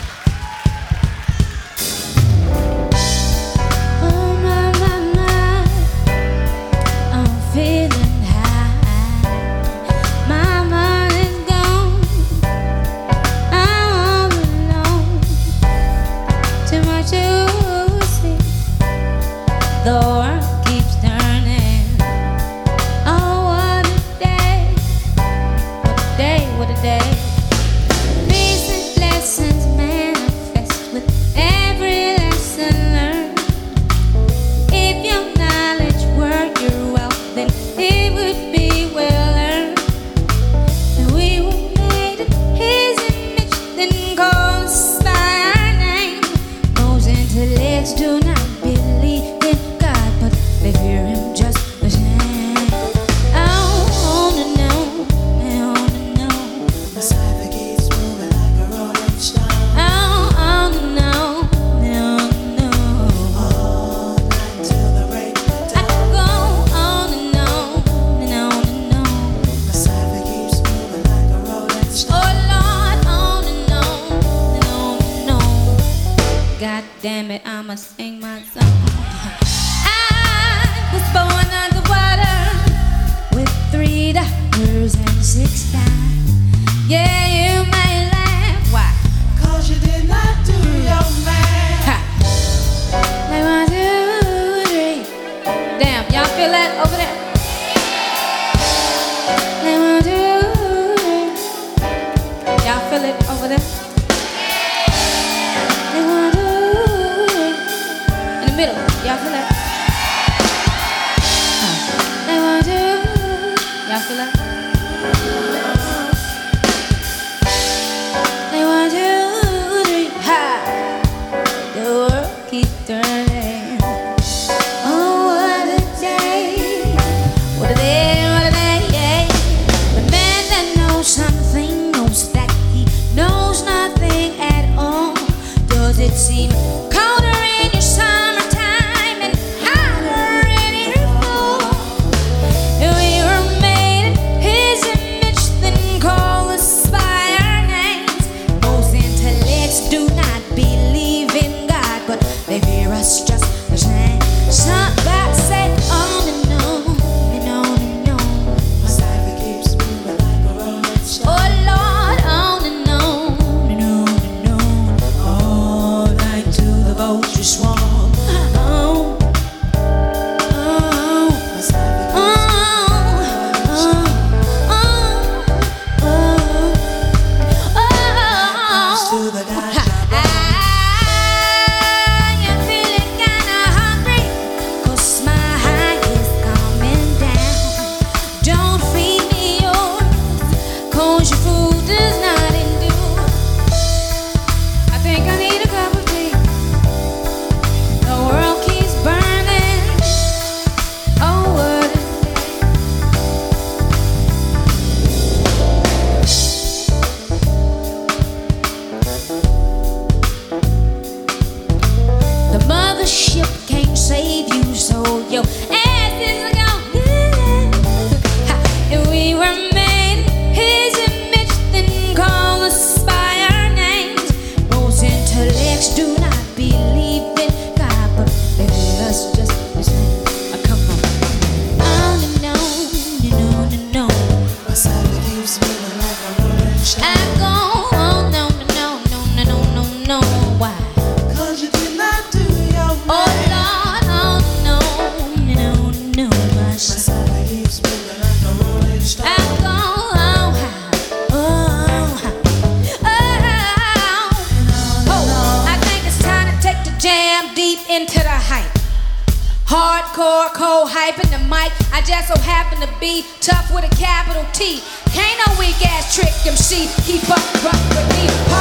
Hardcore, cold hyping the mic. I just so happen to be tough with a capital T. Can't no weak ass trick M C keep up, rough with me.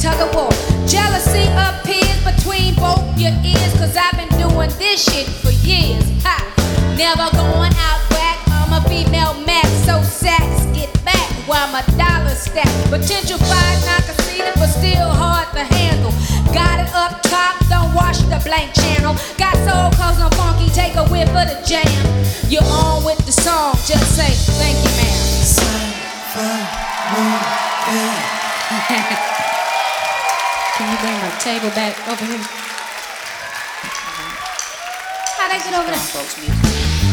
tug of war. Jealousy appears between both your ears, cause I've been doing this shit for years. Ha! Never going out back, I'm a female max, so sacks get back while my dollar stack. Potential five knocker seated, but still hard to handle. Got it up top, don't wash the blank channel. Got soul cause I'm funky, take a whip of the jam. You're on with the song, just say thank you, ma'am. Can you bring my table back over here? How'd I get over there? Folks, music.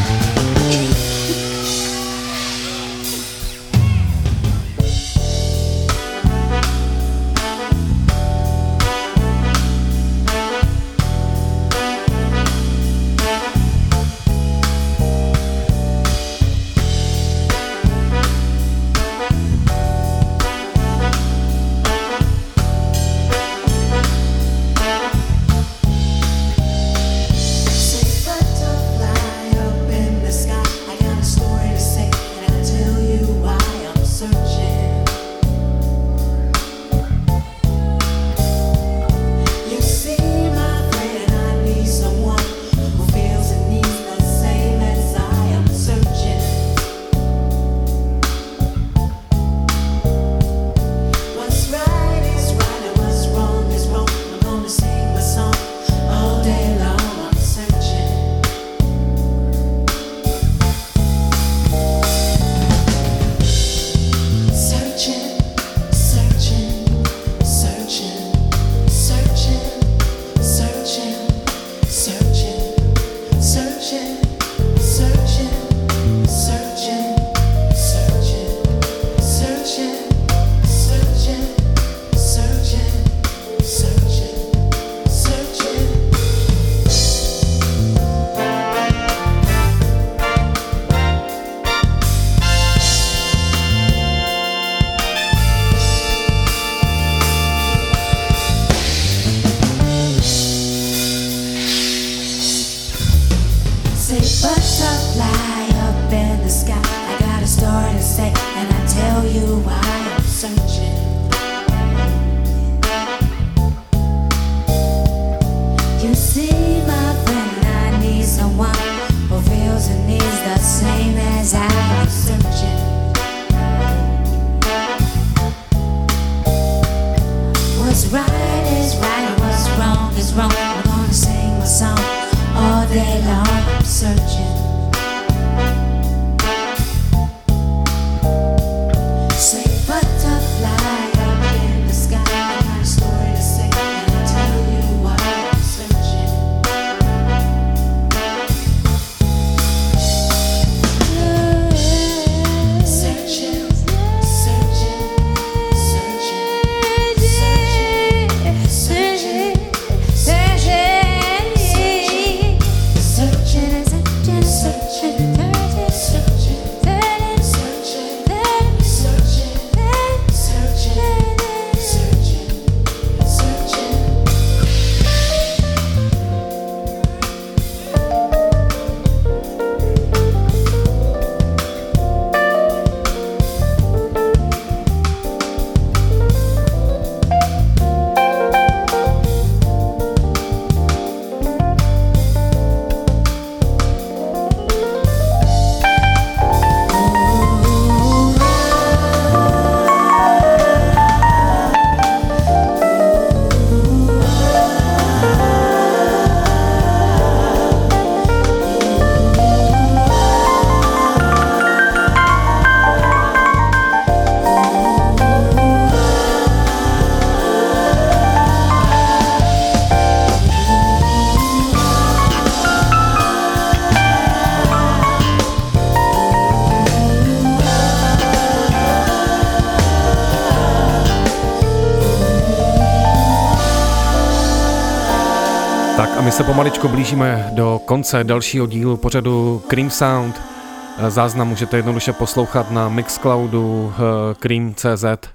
My se pomaličku blížíme do konce dalšího dílu pořadu Cream Sound. Záznam můžete jednoduše poslouchat na Mixcloudu cream tečka cé zet.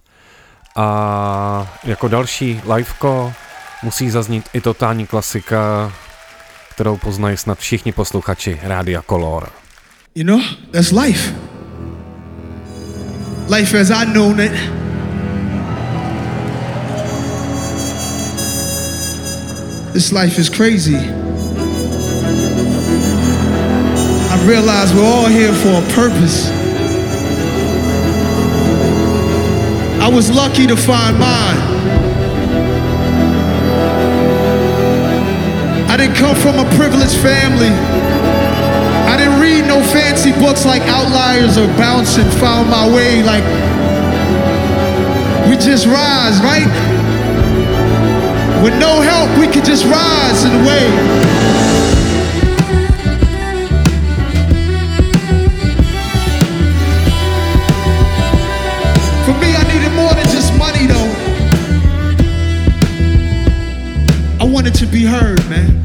A jako další liveko musí zaznít i totální klasika, kterou poznají snad všichni posluchači Rádia Color. You know, that's life. Life as I known it This life is crazy. I realize we're all here for a purpose. I was lucky to find mine. I didn't come from a privileged family. I didn't read no fancy books like Outliers or Bounce and found my way. Like, we just rise, right? With no help, we could just rise in a way. For me, I needed more than just money, though. I wanted to be heard, man.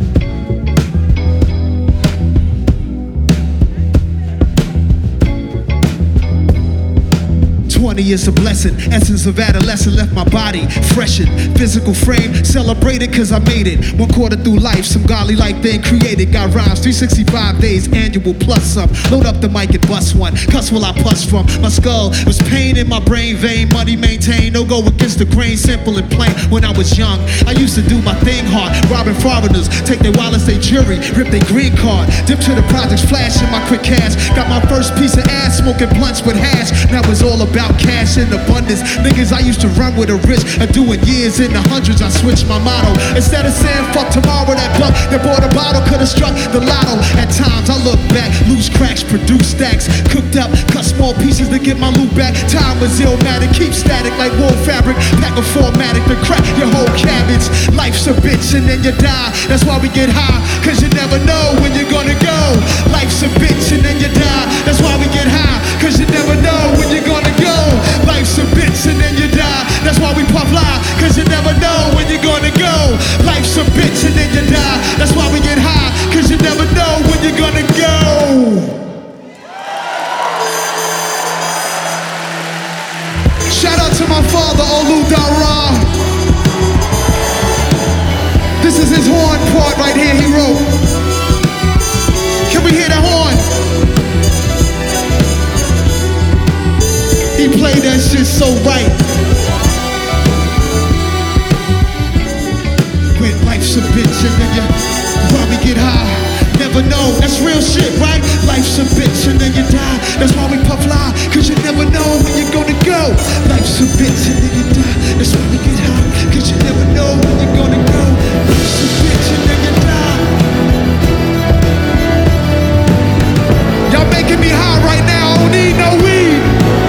twenty is a blessing. Essence of adolescence left my body freshened. Physical frame celebrated cause I made it. One quarter through life, some godly like thing created. Got rhymes, three hundred sixty-five days, annual plus some. Load up the mic and bust one. Cuss while I puss from. My skull was pain in my brain vein. Money maintained, no go against the grain. Simple and plain. When I was young, I used to do my thing hard. Robbing foreigners, take their wallets, they jury, rip their green card. Dip to the projects, flashing my quick cash. Got my first piece of ass, smoking blunts with hash. Now it's all about cash in abundance. Niggas I used to run with a risk of doing years in the hundreds. I switched my motto. Instead of saying fuck tomorrow, that buck that bought a bottle could have struck the lotto. At times I look back, loose cracks, produce stacks, cooked up, cut small pieces to get my loot back. Time was illmatic, keep static like wool fabric. Pack a formatic to crack your whole cabbage. Life's a bitch and then you die. That's why we get high, cause you never know when you're gonna go. Life's a bitch and then you die. That's why we get high, cause you never know when you're gonna go. Life's a bitch and then you die. That's why we puff lie, cause you never know when you're gonna go. Life's a bitch and then you die. That's why we get high, cause you never know when you're gonna go. Shout out to my father, Olu Dara. This is his horn part right here he wrote. Can we hear that horn? He played that shit so right. When life's a bitch and then you probably get high. Never know, that's real shit, right? Life's a bitch and then you die. That's why we puff lie, cause you never know when you're gonna go. Life's a bitch and then you die. That's why we get high, cause you never know when you're gonna go. Life's a bitch and then you die. Y'all making me high right now, I don't need no weed.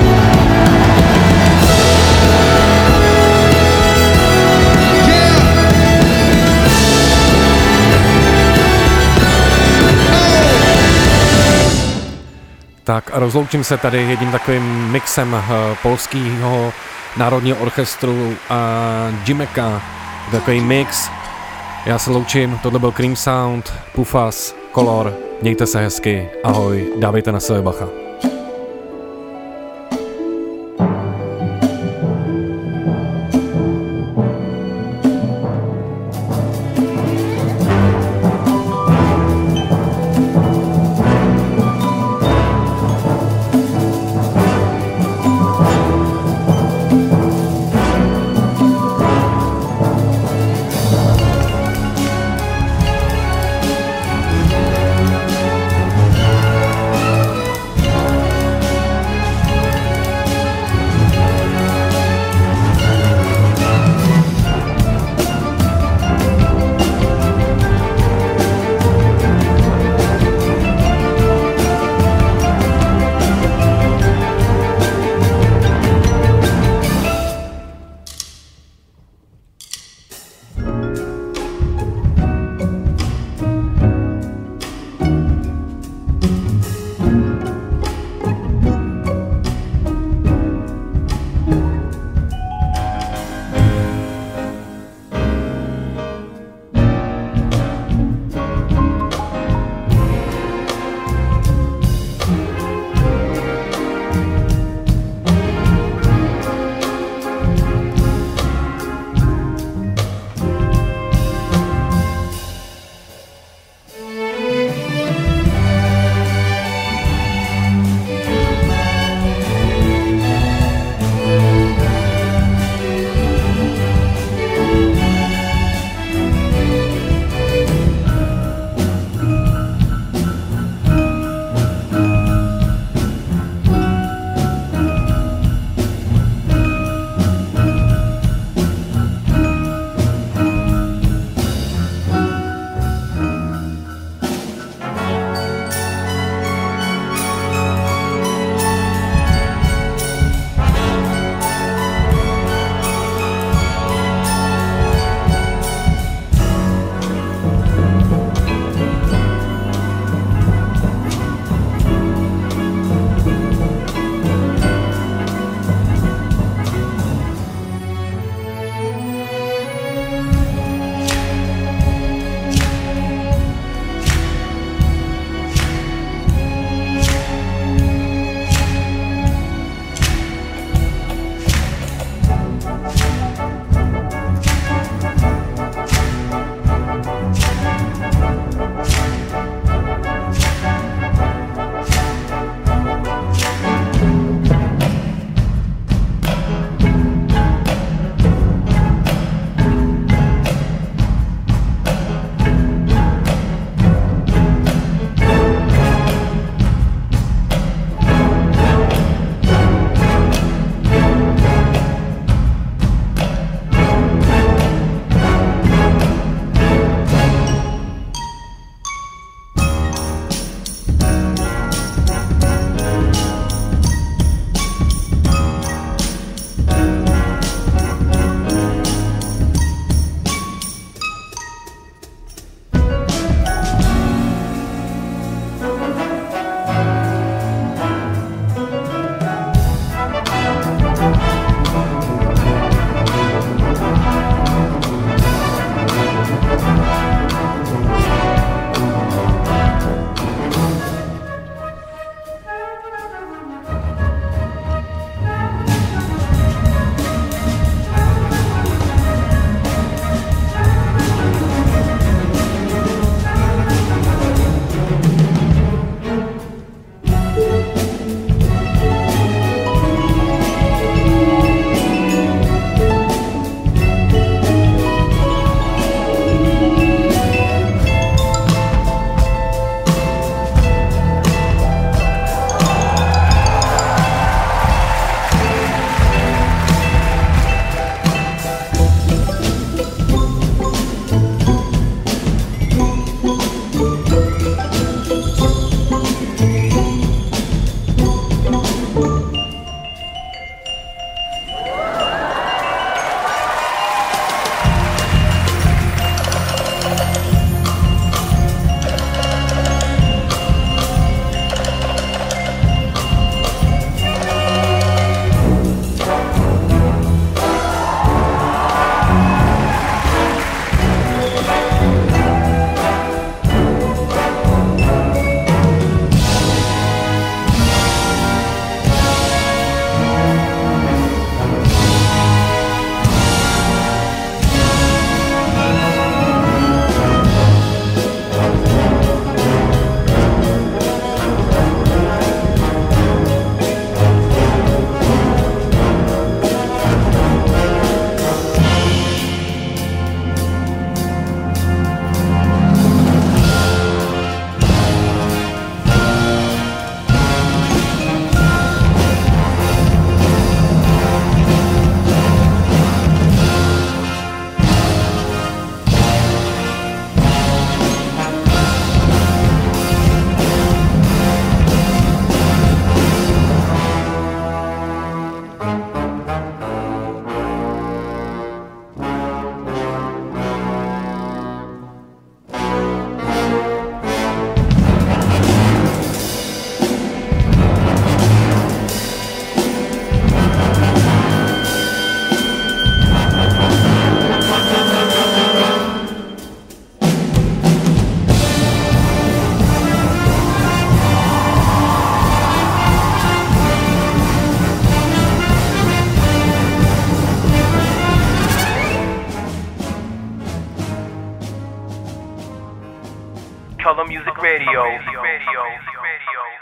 Tak a rozloučím se tady jedním takovým mixem uh, polského národního orchestru a Jimeka. Takový mix. Já se loučím, tohle byl Cream Sound, Pufas, Color. Mějte se hezky, ahoj, dávejte na sebe bacha. Color Music Radio. Radio. Radio.